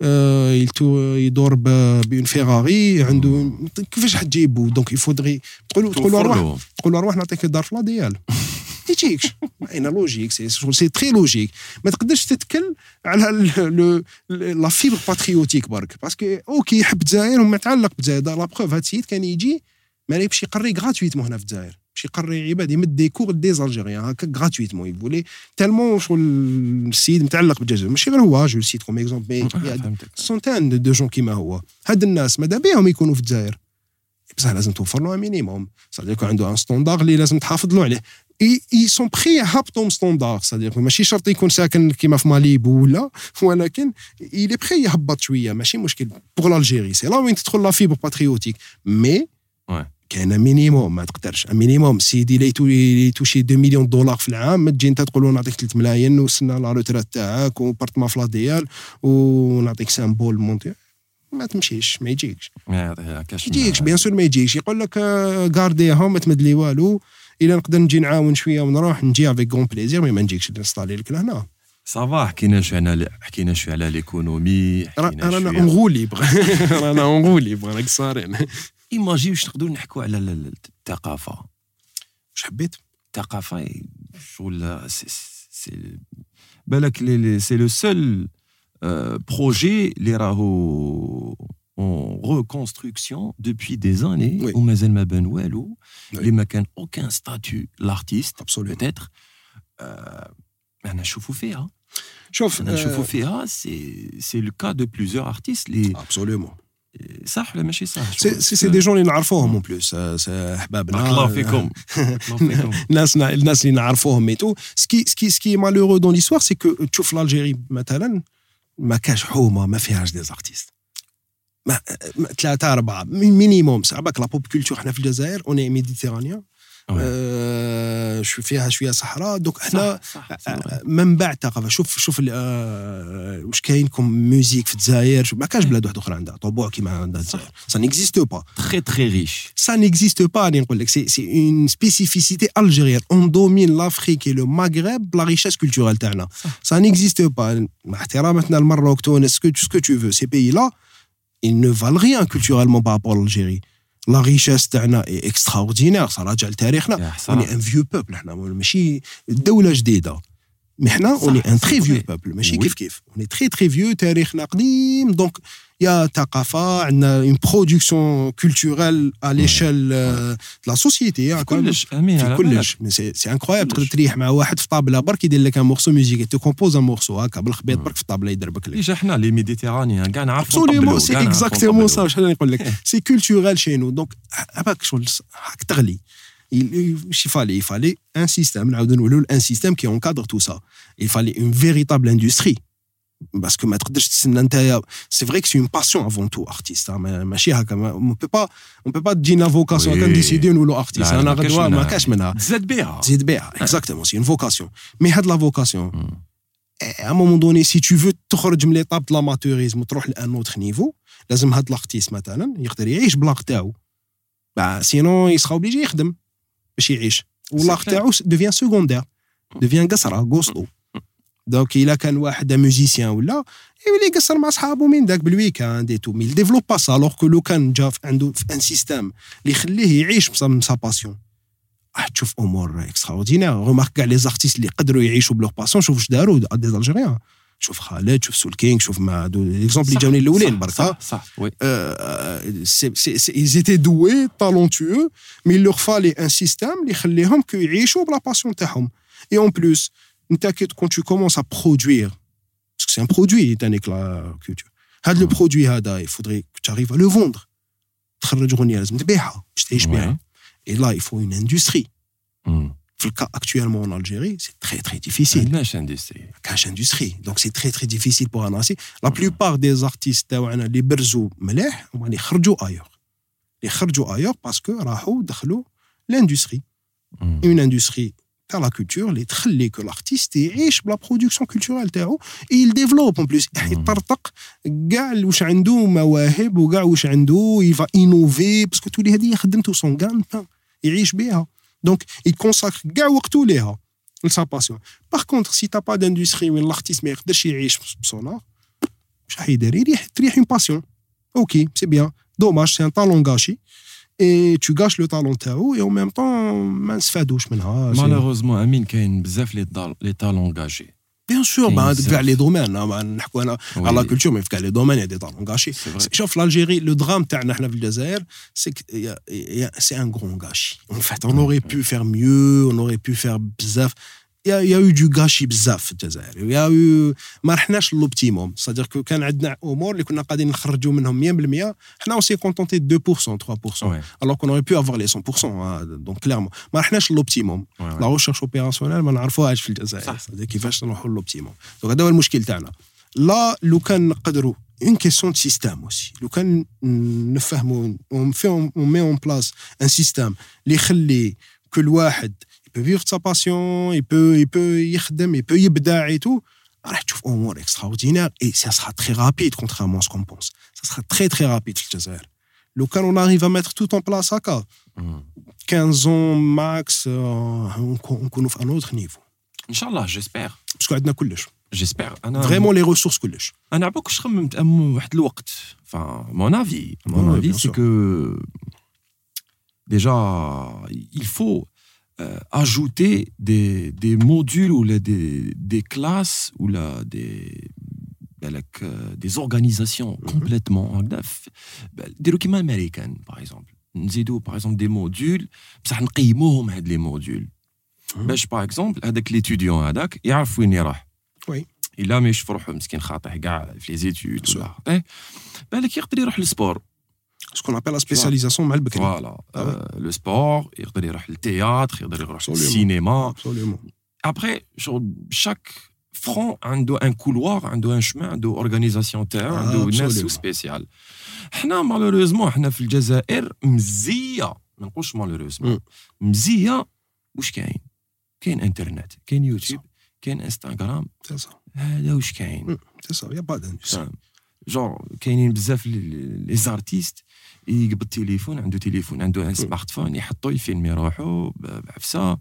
يدور بون فيراري عنده كيفاش حتجيبو دونك يفودغي تقولوا تقولوا روح تقولوا روح نعطيك الدار في لا ديال ما يجيكش اين لوجيك سي سي تري لوجيك ما تقدرش تتكل على لا فيبر باتريوتيك برك باسكو اوكي يحب الجزائر وما تعلق بالجزائر لا بروف هاد السيد كان يجي ما يمشي يقري غراتويتمون هنا في الجزائر باش يقري عباد يمد دي كور دي زالجيريان هكا غراتويتمون يقولي تالمون شغل السيد متعلق بالجزائر ماشي غير هو جو سيت كوم اكزومبل سونتان دو جون كيما هو هاد الناس ماذا بهم يكونوا في الجزائر بصح لازم توفر له مينيموم صدق يكون عنده ان ستاندار اللي لازم تحافظ له عليه اي سون بري يهبطوا ستاندار صدق ماشي شرط يكون ساكن كيما في ماليبو ولا ولكن الي بري يهبط شويه ماشي مشكل بوغ الجيري سي لا وين تدخل لا فيبر باتريوتيك مي كان مينيموم ما تقدرش مينيموم سيدي لي توشي اثنين مليون دولار في العام ما تجي انت تقول له نعطيك ثلاثة ملايين وسنا لا روترات تاعك وبارتما في لا ديال ونعطيك سامبول مونتي ما تمشيش ما يجيكش ما يجيكش بيان سور ما يجيكش يقول لك غارديهم ما تمد لي والو الا نقدر نجي نعاون شويه ونروح نجي افيك غون بليزير مي ما نجيكش نستالي لك لهنا صافا حكينا شويه على حكينا شويه على ليكونومي حكينا شويه انا نغولي انا نغولي راك صارين ايماجي واش نقدروا نحكوا على الثقافه واش حبيت الثقافه شغل سي بالك سي لو سول بروجي اللي راهو en reconstruction depuis des années oui. ومازال ما بان والو اللي ما كان aucun statut l'artiste peut-être انا نشوفوا فيها شوف انا نشوفوا فيها سي سي لو كا دو بليزيور ارتيست اللي absolument صح ولا ماشي صح سي سي دي جون اللي نعرفوهم اون بلوس احبابنا الله فيكم الناس الناس اللي نعرفوهم ميتو سكي سكي سكي مالورو دون ليستوار سي كو تشوف الجيري مثلا ما كاش حومه ما فيهاش دي زارتيست ما ثلاثة أربعة مينيموم صعبك لا بوب كولتور حنا في الجزائر اوني ميديتيرانيان أه شو فيها شويه صحراء دوك حنا منبع الثقافه شوف شوف أه واش كاين كوم ميوزيك في الجزائر ما كاش بلاد واحده اخرى عندها طبوع كيما عندها الجزائر سا نيكزيست با تري تري ريش سا نيكزيست با راني نقول لك سي سي اون سبيسيفيسيتي الجيريان اون دومين لافريك اي لو ماغرب لا ريشيس كولتورال تاعنا سا نيكزيست با مع احتراماتنا المروك تونس سكو سكو تو فو سي بيي لا ils ne valent rien culturellement par rapport à l'Algérie. La richesse تاعنا est extraordinaire ça راجع لتاريخنا on est un vieux peuple احنا ماشي دولة جديدة mais احنا on est un très vieux peuple ماشي كيف كيف on est très très vieux تاريخنا قديم donc يا ثقافة عندنا une production culturelle à l'échelle de la société كلش امين كلش سي سي انكرويابل تقدر تريح مع واحد في طابلة برك يدير لك ان مورسو ميوزيك تو كومبوز ان مورسو هكا بالخبيط برك في الطابلة يدربك لك ديجا حنا لي ميديتيرانيان كاع نعرفوا نطبلوا سي اكزاكتومون سا واش نقول لك سي كولتورال شي نو دونك هاك شغل هاك تغلي il fallait il fallait un système نعاودو نقولوا un système qui encadre tout ça il fallait une véritable industrie parce que ما تقدرش تسنى نتايا c'est vrai que c'est une passion avant tout artiste ماشي هكا on peut pas on peut pas تجينا vocation كنديسيدي نقولوا artiste انا غدوه ما كاش منها تزاد بها تزيد بها exactement c'est une vocation mais هاد la vocation à un moment donné si tu veux تخرج من l'étape de l'amateurisme وتروح لان autre niveau لازم هاد l'artiste مثلا يقدر يعيش بلاغ تاعو bah sinon il sera obligé يخدم باش يعيش واللاغ تاعو devient secondaire devient قصره غوصلو دونك الا كان واحد ميوزيسيان ولا يولي يقصر مع صحابو من داك بالويكاند اي تو مي ديفلوب با سا الوغ كو لو كان جا عنده ان سيستيم اللي يخليه يعيش بسا سا باسيون راح تشوف امور اكستراوردينير رومارك كاع لي زارتيست اللي قدروا يعيشوا بلوغ باسيون شوف واش داروا دي الجيريان شوف خالد شوف سول كينغ شوف ما دو ليكزومبل اللي جاوني الاولين برك صح صح وي سي سي ils étaient doués talentueux mais il leur fallait un système اللي يخليهم كو يعيشوا بلا باسيون تاعهم et en plus quand tu commences à produire, parce que c'est un produit, la culture. Le produit, il faudrait que tu arrives à le vendre. Et là, il faut une industrie. Le cas actuellement en Algérie, c'est très très difficile. Cache industrie. Cache industrie. Donc c'est très très difficile pour annoncer. La plupart des artistes, les berzou meleh, les kharjou ailleurs. Les kharjou ailleurs parce que rahou dakhlou l'industrie. Une industrie à la culture les تخلي que l'artiste يعيش بلا production culturelle تاعو il développe en plus يطرطق كاع واش عنده مواهب وكاع واش عنده il va innover parce que تولي هذه خدمته son gagne-pain يعيش بها donc il consacre كاع وقته ليها لسا باسيون par contre si t'as pas d'industrie وين l'artiste ما يقدرش يعيش بصون واش راح يدير يريح تريح اون باسيون اوكي سي بيان دوماج سي ان طالون غاشي اي تو غاش لو طالون تاعو اي او ميم طون ما نستفادوش منها مالوغوزمون امين كاين بزاف لي لي طالون غاشي بيان سور بعد كاع لي دومين نحكوا انا على لا كولتور مي في كاع لي دومين يا دي طالون غاشي شوف لالجيري لو درام تاعنا حنا في الجزائر سي سي ان غرون غاشي ان فات اون اوري بو فير ميو اون اوري بو فير بزاف Il y a, il y a eu du gâchis بزاف في الجزائر. Il y a eu ما رحناش لوبتيموم. C'est-à-dire que كان عندنا امور اللي كنا قاعدين نخرجوا منهم مية بالمية حنا aussi contenté de deux pour cent trois pour cent ouais. Alors qu'on aurait pu avoir les cent pour cent hein. Donc clairement ما رحناش لوبتيموم. Ouais, ouais. La recherche opérationnelle ما نعرفوهاش في الجزائر. C'est-à-dire كيفاش نروحوا لوبتيموم. Donc هذا هو المشكل تاعنا. لا لو كان نقدروا une question de système aussi. لو كان نفهموا on fait on met en place un système اللي يخلي كل واحد il peut vivre de sa passion, il peut, il peut يخدم, il peut يبدع et tout. راح تشوف أمور extraordinaires et ça sera très rapide contrairement à ce qu'on pense. Ça sera très très rapide في الجزائر. لو كان on arrive à mettre tout en place هكا quinze ans max نكونوا في un autre niveau. إن شاء الله j'espère. parce que عندنا كلش. J'espère. أنا vraiment les ressources كلش. أنا عباك واش خممت أم واحد الوقت. Enfin mon avis, mon avis c'est que déjà il faut Euh, ajouter des, des modules ou là, des, des classes ou là, des, ben, euh, des organisations mm-hmm. complètement des documents américains par exemple نزيدوا par exemple des modules بصح نقيموهم هاد les modules باش par exemple هذاك l'étudiant هذاك يعرف وين يروح وي الا ما يشوف روحه مسكين خاطئ كاع في لي زيتود ولا خاطئ بالك يقدر يروح للسبور ce qu'on appelle la spécialisation مع البكري. Voilà. Ah ouais. euh, le sport, يقدر يروح للتhéâtre, يقدر يروح للسينما. Absolument. Après, chaque front عنده un couloir, عنده un chemin, عنده organisation تاعو, عنده ناس spécial. حنا malheureusement حنا في الجزائر مزية, ما نقولش malheureusement. مزية واش كاين؟ كاين انترنت, كاين يوتيوب, كاين انستغرام. C'est ça. هذا واش كاين؟ C'est ça, il y a pas d'industrie. genre كاينين بزاف لي زارتيست يقبض التليفون عنده تليفون عنده ان سمارت فون يحطو يفيلمي روحو بعفسه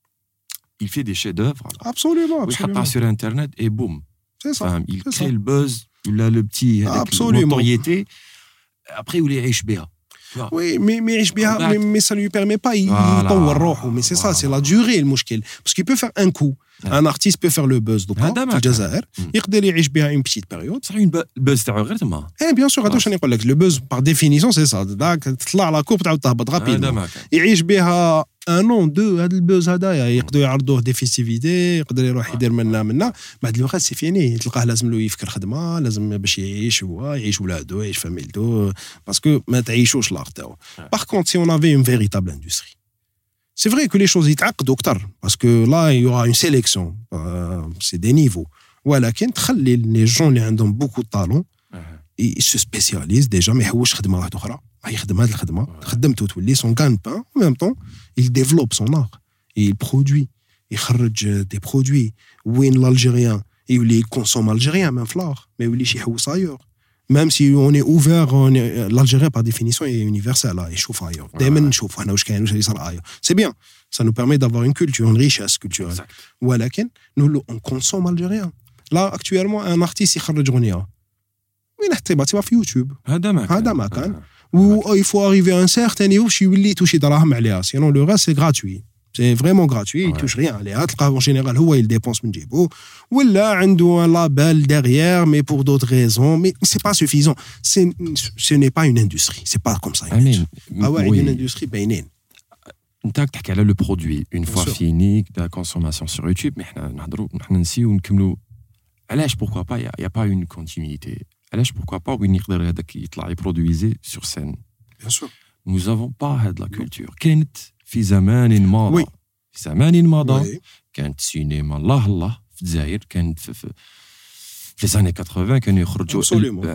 il fait des chefs d'œuvre absolument يحطها sur internet et boum c'est ça il crée le buzz ولا le petit notoriété après يولي يعيش بها Oui, mais mais يعيش بها mais ça lui permet pas يطور روحه mais c'est ça c'est la durée المشكل parce qu'il peut faire un coup un artiste peut faire le buzz donc في الجزائر يقدر يعيش بها une petite période صح البuzz تاعو غير تما eh bien sûr هذا واش نقول لك le buzz par définition c'est ça داك تطلع على كوب تعاود تهبط rapidement يعيش بها ان اون دو هذا البوز هذايا يقدروا يعرضوه دي فيستيفيتي يقدر يروح يدير منا منا بعد الوقت سي فيني تلقاه لازم له يفكر خدمه لازم باش يعيش هو يعيش ولادو يعيش فاميلتو باسكو ما تعيشوش لارت تاعو باغ كونت سي اون افي اون فيريتابل اندستري سي فري كو لي شوز يتعقدوا اكثر باسكو لا يورا اون سيليكسيون سي دي نيفو ولكن تخلي لي جون اللي عندهم بوكو طالون يسو سبيسياليز ديجا ما يحوش خدمه واحده اخرى يخدم هذه الخدمه خدمته تولي سون كان بان en même temps il développe son art il produit يخرج des produits وين l'Algérien يولي consomme algérien même fleur mais يوليش يحوس ailleurs même si on est ouvert on est, l'Algérien par définition est universel là يشوف ailleurs دائما نشوف هنا واش كاين واش يصير ailleurs c'est bien ça nous permet d'avoir une culture une richesse culturelle ولكن nous on consomme algérien là actuellement un artiste يخرج اغنيه وين حتى في يوتيوب هذا ما هذا ما كان و il faut arriver à un certain niveau باش يولي توشي دراهم عليها sinon le reste c'est gratuit c'est vraiment gratuit il touche rien عليها تلقاه en général هو il dépense من جيبو ولا عنده un label derrière mais pour d'autres raisons mais c'est pas suffisant c'est ce n'est pas une industrie c'est pas comme ça ah ouais une industrie باينين انت تحكي على le produit une fois fini la consommation sur YouTube mais حنا نهضروا حنا نسيو ونكملوا علاش pourquoi pas il y a pas une continuité علاش pourquoi pas وين يقدر هذاك يطلع يبرودويزي sur scène bien sûr nous avons pas هاد la culture كانت في زمان مضى في زمان مضى كانت سينما الله الله في الجزائر كانت في, في في les années quatre-vingts كانوا يخرجوا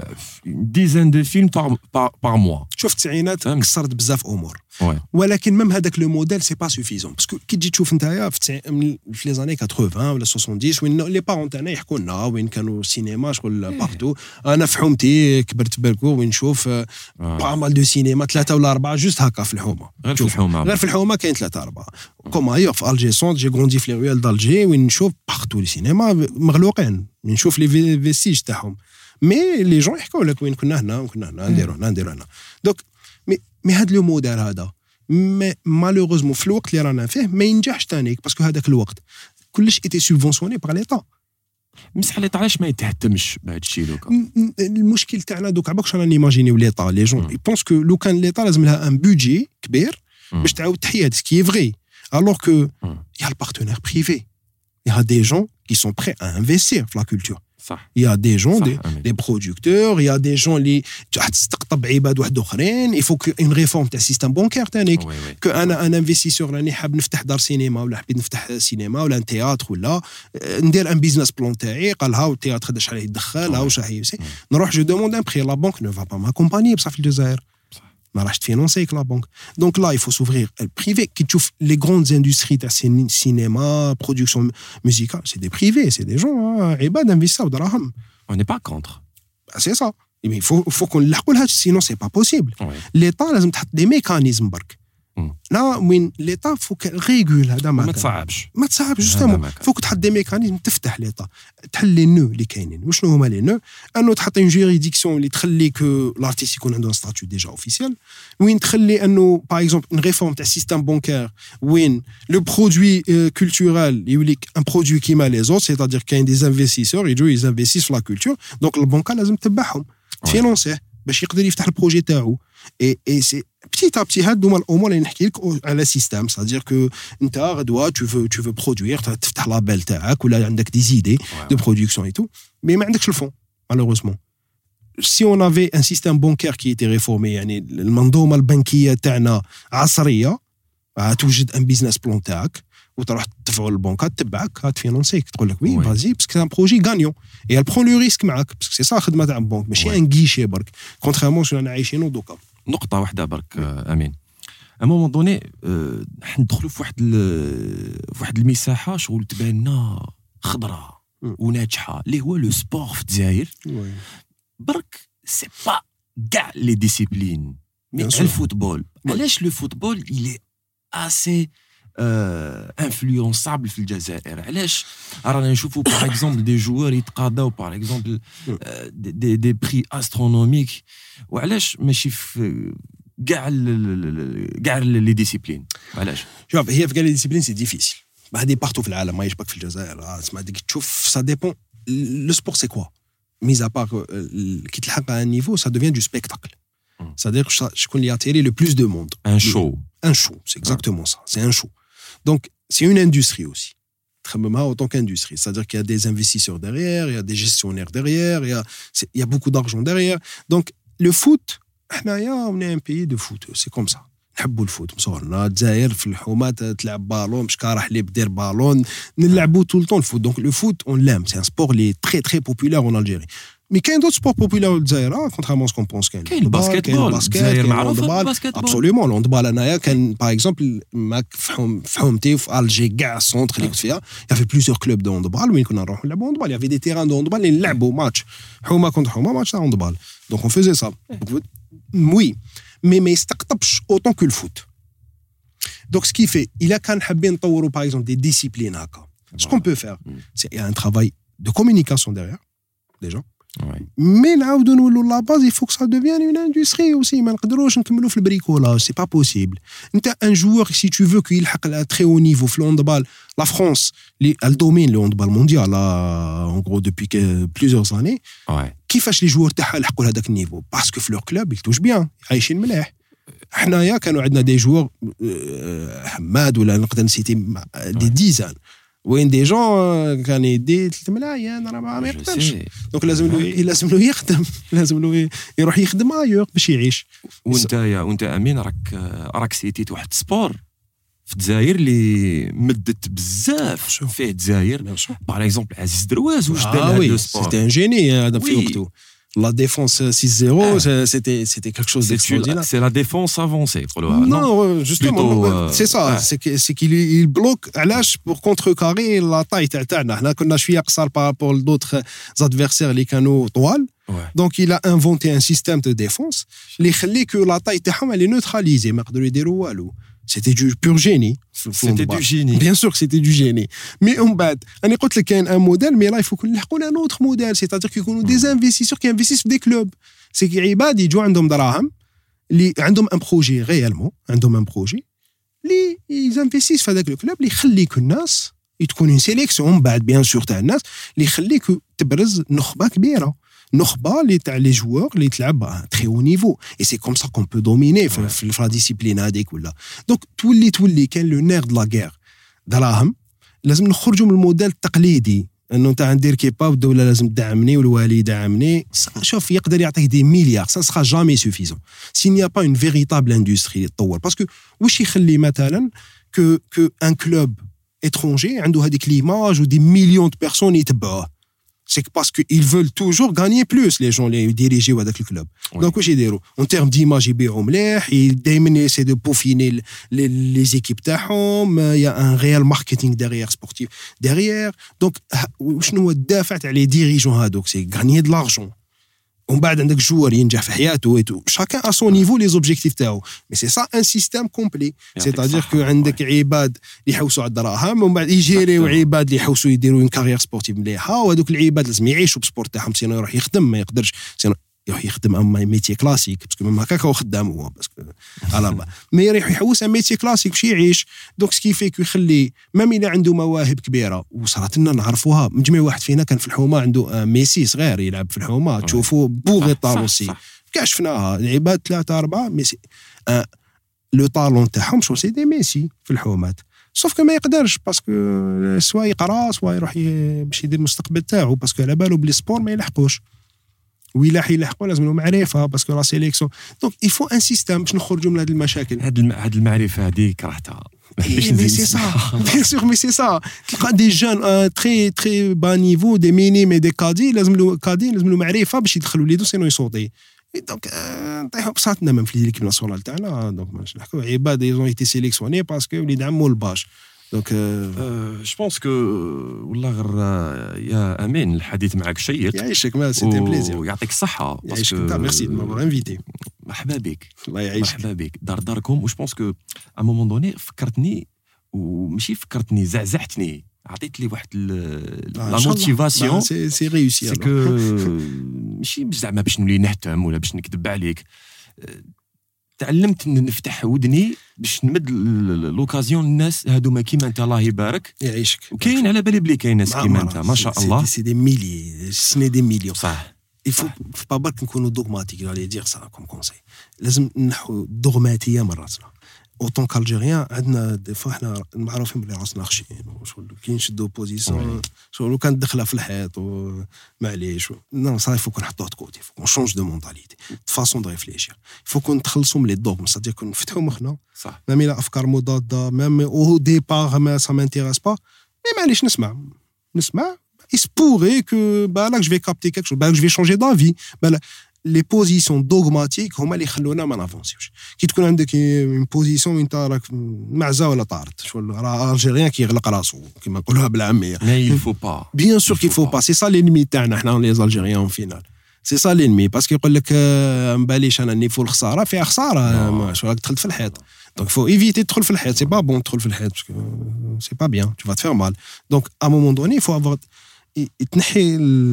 une dizaine de films par par par mois شوف التسعينات كسرت بزاف امور ولكن ميم هذاك لو موديل سي با سوفيزون باسكو كي تجي تشوف نتايا في في لي زاني ثمانين ولا سبعين وين لي بارون تاعنا يحكوا لنا وين كانوا السينما شغل بارتو انا في حومتي كبرت بركو وين نشوف با مال دو سينما ثلاثه ولا اربعه جوست هكا في الحومه غير في الحومه غير في الحومه كاين ثلاثه اربعه كوم ايور في الجي سونت جي غروندي في لي رويال دالجي وين نشوف بارتو لي سينما مغلوقين نشوف لي فيستيج تاعهم مي لي جون يحكوا لك وين كنا هنا وكنا هنا نديرو هنا نديرو هنا دونك مي مي هذا لو موديل هذا مالوغوزمون في الوقت اللي رانا فيه ما ينجحش تانيك باسكو هذاك الوقت كلش ايتي سوبفونسيوني باغ ليطا مسح ليطا علاش ما يتهتمش بهذا الشيء دوكا المشكل تاعنا دوك عباكش رانا نيماجينيو ليطا لي جون يبونس كو لو كان ليطا لازم لها ان بودجي كبير باش تعاود تحيا سكي فري alors que il y a le partenaire privé il y a des gens qui sont prêts à investir dans la culture صح. il y a des gens صح. des, des producteurs il y a des gens اللي تستقطب عباد واحد اخرين il faut que une réforme تاع السيستم بانكير تانيك que انا ان انفستيسور راني حاب نفتح دار سينما ولا حبيت نفتح سينما ولا ان تياتر ولا ندير ان بيزنس بلان تاعي قال ها التياتر قداش عليه يدخل ها واش راح نروح جو دوموند ان بري لا بانك نو فا با ماكومباني بصح في الجزائر ما راحش تفينونسيك لا بانك دونك لا يفو سوفرير البريفي كي تشوف لي غروند اندستري تاع السينما برودكسيون ميوزيكال سي دي بريفي سي دي جون عباد انفيستاو دراهم on n'est pas contre سي سا مي فو فو كون نلحقوا لهذا سينو سي با بوسيبل ليطا لازم تحط دي ميكانيزم برك لا وين ليطا فوك ريغول هذا ما تصعبش ما تصعبش جوستومون فوك تحط دي ميكانيزم تفتح ليطا تحل لي نو اللي كاينين وشنو هما لي نو انه تحط اون جيريديكسيون اللي تخليك لارتيست يكون عنده ستاتيو ديجا اوفيسيال وين تخلي انه باغ اكزومبل اون ريفورم تاع السيستم بانكير وين لو برودوي كولتورال يوليك ان برودوي كيما لي زوت سيتادير كاين دي انفستيسور يجوا يزانفيسيس في لا كولتور دونك البنكه لازم تتبعهم تفينونسيه باش يقدر يفتح البروجي تاعو اي اي سي بتيت ا بتي هاد هما الامور اللي نحكي لك على سيستم سادير كو انت غدوه تو فو تو فو برودوير تفتح لابيل تاعك ولا عندك دي زيدي دو برودكسيون اي تو مي ما عندكش الفون مالوغوزمون سي اون افي ان سيستم بانكير كي تي ريفورمي يعني المنظومه البنكيه تاعنا عصريه توجد ان بيزنس بلان تاعك وتروح تدفعوا للبنكه تتبعك تفينونسيك تقول لك وي فازي باسكو سي ان بروجي غانيون اي البرون لو ريسك معاك باسكو سي صا خدمه تاع البنك ماشي ان غيشي برك كونتريمون شنو انا عايشينو دوكا نقطه واحده برك امين ا مومون دوني ندخلوا في واحد في واحد المساحه شغل تبان لنا خضراء وناجحه اللي هو لو سبور في الجزائر برك سي با كاع لي ديسيبلين مي الفوتبول علاش لو فوتبول إلي اسي انفلونسابل في الجزائر علاش رانا نشوفوا باغ اكزومبل دي جوار يتقاضاو باغ اكزومبل دي دي بري استرونوميك وعلاش ماشي في كاع كاع لي ديسيبلين علاش شوف هي في كاع لي ديسيبلين سي ديفيسيل هذه بارتو في العالم ما يشبك في الجزائر اسمع ديك تشوف سا ديبون لو سبور سي كوا ميز ا بار كي تلحق ان نيفو سا دوفيان دو سبيكتاكل c'est-à-dire شكون اللي ياتيري لو بلوس دو موند ان شو un show, c'est exactement ça, c'est un show. Donc, c'est une industrie aussi. En tant qu'industrie, c'est-à-dire qu'il y a des investisseurs derrière, il y a des gestionnaires derrière, il y a, il y a beaucoup d'argent derrière. Donc, le foot, on est un pays de foot, c'est comme ça. نحبوا الفوت مصورنا الجزائر في الحومه تلعب بالون مش كارح اللي بدير بالون نلعبوا طول طول الفوت دونك لو فوت اون لام سي ان سبور لي تري تري بوبولار اون الجيري مي كاين دوت سبور بوبولار في الجزائر كونترامون سكون بونس كاين كاين الباسكيت بول الجزائر معروفه بالباسكيت بول ابسوليومون الهاندبال انايا كان باغ اكزومبل ماك في حومتي في الجي كاع السونتر اللي كنت فيها يافي بليزيور كلوب دو هاندبال وين كنا نروحوا نلعبوا هاندبال يافي دي تيران دو هاندبال اللي نلعبوا ماتش حومه كونتر حومه ماتش تاع هاندبال دونك اون فيزي سا وي مي ما يستقطبش اوتون كو الفوت Donc, ce qui fait, il a quand même نطوروا par exemple des disciplines هكا. Ce qu'on peut faire, c'est il y a un travail de communication derrière, déjà. Ouais. Mais نعاودوا نولوا la base, il faut que ça devienne une industrie aussi. ما نقدروش نكملوا في البريكولاج, c'est pas possible. انت un joueur si tu veux qu'il يلحق à très haut niveau في الهاندبال, la France, elle domine le handball mondial en gros depuis plusieurs années. Ouais. كيفاش les joueurs تاعها يلحقوا لهذاك النيفو؟ Parce que في leur club, ils touchent bien, عايشين مليح. حنايا كانوا عندنا دي جوور حماد ولا نقدر نسيتي دي ديزان وين دي جون كان يدي ثلاث ملايين راه ما يقدرش دونك لازم له لازم له يخدم لازم له يروح يخدم ايور باش يعيش. وانت يا وانت امين راك راك سيتيت واحد سبور في الجزائر اللي مدت بزاف فيه الجزائر باغ اكزومبل عزيز درويز واش دار هذا السبور سيتي ان جيني هذا في وقته. La défense six zéro, ah. c'était, c'était quelque chose d'extraordinaire. C'est la défense avancée. Non, non, justement, Plutôt, euh, c'est ça. ouais. C'est, que, c'est qu'il il bloque à l'âge pour contrecarrer la taille تاعنا. Là, qu'on a شوية قصار par rapport à d'autres adversaires les canaux طوال. Donc, il a inventé un système de défense اللي يخلي que la taille تاعهم elle est neutralisée. ما يقدروا يديروا والو. c'était du pur génie. C'était du génie. Bien sûr que c'était du génie. Mais on بعد انا قلت لك كاين un modèle mais là il faut qu'on نلحقوا un autre modèle, c'est-à-dire qu'il y a des investisseurs qui investissent في des clubs. C'est que عباد يجوا عندهم دراهم اللي عندهم un projet réellement, عندهم un projet اللي ils investissent في هذاك الكلوب اللي يخليك الناس تكون une sélection بعد bien sûr تاع الناس اللي يخليك تبرز نخبه كبيره. نخبه اللي تاع لي جوور اللي تلعب تري او نيفو اي سي كوم سا كون بو دوميني في لا ديسيبلين هذيك ولا دونك تولي تولي كان لو نير د لا غير دراهم. لازم نخرجوا من الموديل التقليدي انه انت ندير كيبا والدوله لازم تدعمني والوالي يدعمني. شوف يقدر يعطيك دي مليار سا سرا جامي سوفيزون سي ني ا با اون فيريتابل اندستري تطور باسكو واش يخلي مثلا كو كو ان كلوب étranger عنده هذيك ليماج ودي مليون دو بيرسون يتبعوه. C'est que parce qu'ils veulent toujours gagner plus, les gens, les dirigeants de ce club. Oui. Donc, qu'est-ce qu'ils font? En termes d'image, ils essaient de peaufiner les, les équipes. Il y a un réel marketing derrière, sportif derrière. Donc, les dirigeants, c'est gagner de l'argent. ومن بعد عندك جوار ينجح في حياته chacun à son niveau les objectifs تاعو. Mais c'est ça un système complet. C'est-à-dire que عندك عباد اللي يحوسوا على الدراهم ومن بعد يجيريو عباد اللي يحوسوا يديروا une carrière sportive مليحه وهذوك العباد لازم يعيشوا بالسبورت تاعهم سينو يروح يخدم ما يقدرش سينو يروح يخدم اما ميتي كلاسيك باسكو ميم هكاك هو خدام هو باسكو على الله مي يروح يحوس على ميتي كلاسيك باش يعيش. دونك سكي فيك يخلي ميم الا عنده مواهب كبيره وصارت لنا نعرفوها. مجمع واحد فينا كان في الحومه عنده ميسي صغير يلعب في الحومه تشوفوا بوغي طالوسي كاع شفناها العباد ثلاثه اربعه ميسي آه لو طالون تاعهم شو سي دي ميسي في الحومات. سوف كو ما يقدرش باسكو سوا يقرا سوا يروح باش يدير المستقبل تاعو باسكو على بالو بلي سبور ما يلحقوش ويلا يلحقوا لازم له معرفه باسكو لا سيليكسيون. دونك il faut un système باش نخرجوا من هذه المشاكل. هاد هاد المعرفه هذه كرهتها. مي سي سا بيان سور مي سي سا تلقى دي جون تري تري با نيفو دي ميني مي دي كادي لازم له كادي لازم له معرفه باش يدخلوا وليدو سينو يصوتي. دونك نطيحوا بساطنا من في ليكيب ناسيونال تاعنا. دونك ماش نحكوا عباد ايزون ايتي سيليكسيوني باسكو وليد عمو الباش. دونك جو بونس كو والله غير يا امين الحديث معك شيق. يعيشك ما سيتي بليزير ويعطيك الصحه. يعيشك ميرسي دو مافوار انفيتي. مرحبا بك. الله يعيشك. مرحبا بك دار داركم. و جو بونس كو ا مومون دوني فكرتني وماشي فكرتني زعزعتني عطيت لي واحد لا موتيفاسيون. سي سي ريوسي. سي كو ماشي زعما باش نولي نهتم ولا باش نكذب عليك. تعلمت نفتح ودني باش نمد لوكازيون الناس هادوما كيما انت الله يبارك. يعيشك. وكاين على بالي بلي كاين ناس كيما انت ما شاء الله. سي دي ميلي سني دي ميليون. صح. il faut pas برك نكونوا دوغماتيك. j'allais dire ça comme conseil. لازم نحو دوغماتيه مراتنا. اوتون كالجيريان عندنا دي فوا حنا معروفين بلي راسنا خشين وشغل كي نشدو بوزيسيون شغل لو كان دخله في الحيط ومعليش نو صافي فوق نحطوه كوتي فوق شونج دو مونتاليتي فاسون دو ريفليشير. فوق نتخلصوا من لي دوغم صدق كون نفتحوا مخنا. صح. ميم الى افكار مضاده ميم او ديبار ما سا مانتيريس با مي معليش نسمع نسمع il se pourrait que bah là que je vais capter quelque chose bah que je vais changer d'avis bah là, les positions dogmatiques هما اللي يخلونا ما نافونسيوش. كي تكون عندك une position انت راك معزه ولا طارت شغل راه الجيريان كيغلق راسو كما نقولوها بالعاميه. mais il faut pas bien sûr qu'il faut pas. c'est ça l'ennemi تاعنا حنا les algériens en finale. c'est ça l'ennemi parce que يقول لك ما باليش انا نيفو الخساره فيها خساره شو راك دخلت في الحيط. donc faut éviter تدخل في الحيط. c'est pas bon تدخل في الحيط parce que c'est pas bien tu vas te faire mal. donc à un moment donné il faut avoir تنحي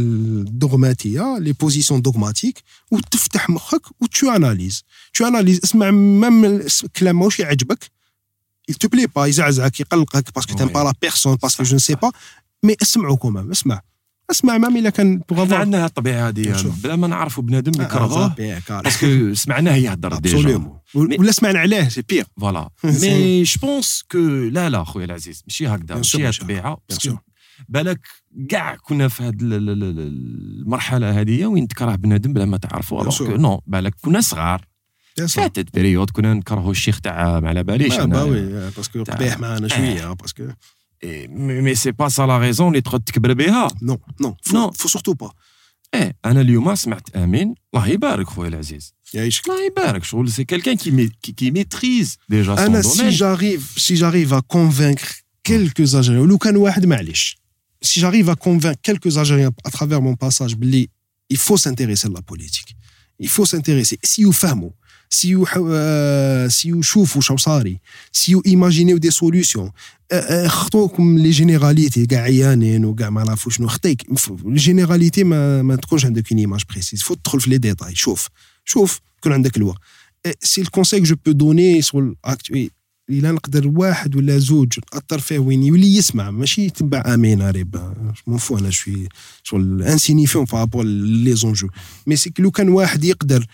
الدوغماتيه لي بوزيسيون دوغماتيك وتفتح مخك وتشو اناليز تو اناليز اسمع ميم كلام ماهوش يعجبك il te plaît pas يزعزعك يقلقك باسكو تيم با لا بيرسون باسكو جو نسي با مي اسمعوا كومام اسمع اسمع مام الا كان بوغ عندنا الطبيعه هذه بلا ما نعرفوا بنادم نكرهوه باسكو سمعناه يهضر ديجا ولا سمعنا عليه سي بير فوالا. مي جو بونس كو لا لا خويا العزيز ماشي هكذا ماشي الطبيعه باسكو بالك كاع كنا في هذه المرحله هذه وين تكره بنادم بلا ما تعرفوا الوغ نو بالك كنا صغار فاتت بريود كنا نكرهوا الشيخ تاع ما على باليش انا وي باسكو قبيح معنا شويه باسكو مي سي با سا لا ريزون اللي تقعد تكبر بها. نو نو نو فو سورتو با. ايه انا اليوم سمعت امين الله يبارك خويا العزيز يعيشك الله يبارك شغل سي كيلكان كي كي ميتريز ديجا سون دومين. انا سي جاريف سي جاريف ا كونفينكر كيلكو اجيريان لو كان واحد معليش si j'arrive à convaincre quelques Algériens à travers mon passage, il faut s'intéresser à la politique. Il faut s'intéresser. Si vous faites, سيو سيو شوفوا شو صاري سيو ايماجينيو دي سوليوشن خطوكم لي جينيراليتي كاع عيانين وكاع ما نعرفوا شنو خطيك الجينيراليتي ما ما تكونش عندك اون ايماج بريسيز فو تدخل في لي ديتاي شوف شوف يكون عندك الوقت سي الكونساي جو بو دوني سول اكتوي الا نقدر واحد ولا زوج اثر فيه وين يولي يسمع ماشي يتبع امين ريب مون فو انا شوي شغل انسينيفيون بارابور لي زونجو مي سي لو كان واحد يقدر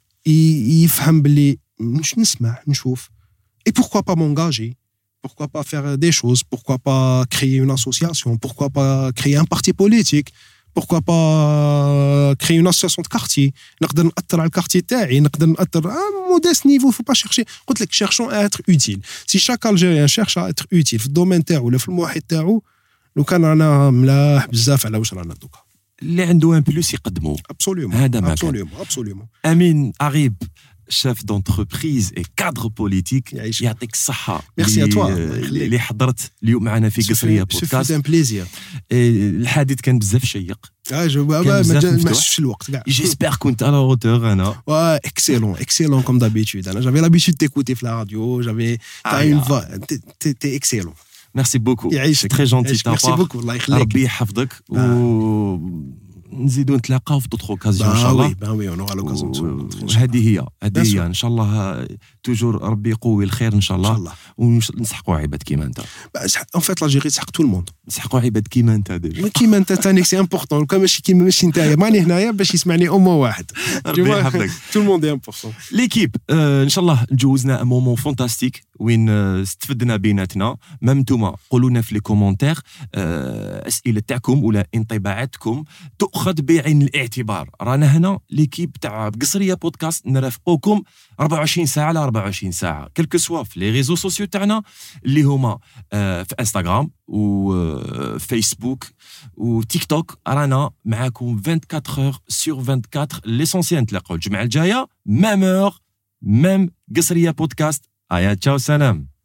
يفهم باللي مش نسمع نشوف et pourquoi pas m'engager pourquoi pas faire des choses pourquoi pas créer une association pourquoi pas créer un parti politique pourquoi pas créer une association de quartier نقدر نأثر على الكارتي تاعي نقدر نأثر à modeste niveau faut pas chercher قلت لك cherchons à être utile si chaque Algérien cherche à être utile في الدومين تاعو ولا في المحيط تاعو لو كان رانا ملاح بزاف على واش رانا دوكا اللي عنده ان بلوس يقدموا absolument هذا ما absolument absolument امين عريب chef d'entreprise et cadre politique يعطيك الصحة ميرسي ا توا اللي حضرت اليوم معنا في قصرية بودكاست سي ان بليزير الحديث كان بزاف شيق اه جو ما مشش الوقت كاع جيسبر كنت على هوتور انا وا اكسيلون اكسيلون كوم دابيتود انا جافي لابيتود تيكوتي في لا راديو جافي تا اون فوا تي اكسيلون ميرسي بوكو يعيشك تري جونتي تا ميرسي بوكو الله يخليك ربي يحفظك و نزيدو نتلاقاو في دوطخ اوكازيون ان شاء الله با وي اون اورا لوكازيون هذه هي هذه هي ان شاء الله توجور ربي يقوي الخير ان شاء الله ونسحقوا عباد كيما انت ان فيت لاجيري تسحق تو الموند نسحقوا عباد كيما انت ديجا كيما انت ثاني سي امبورطون كان ماشي كيما ماشي نتايا ماني هنايا باش يسمعني امه واحد ربي يحفظك تو الموند اي امبورطون ليكيب ان شاء الله جوزنا ان مومون فانتاستيك وين استفدنا بيناتنا ميم نتوما قولوا لنا في لي كومونتير اسئله تاعكم ولا انطباعاتكم تؤخذ بعين الاعتبار رانا هنا ليكيب تاع قصريه بودكاست نرافقوكم أربعة وعشرين ساعه على أربعة وعشرين ساعه كلكو سوا في لي ريزو سوسيو تاعنا اللي هما في انستغرام وفيسبوك وتيك توك رانا معاكم أربعة وعشرين اور سور أربعة وعشرين ليسونسيال نتلاقاو الجمعه الجايه ميم اور ميم قصريه بودكاست ايا تشاو سلام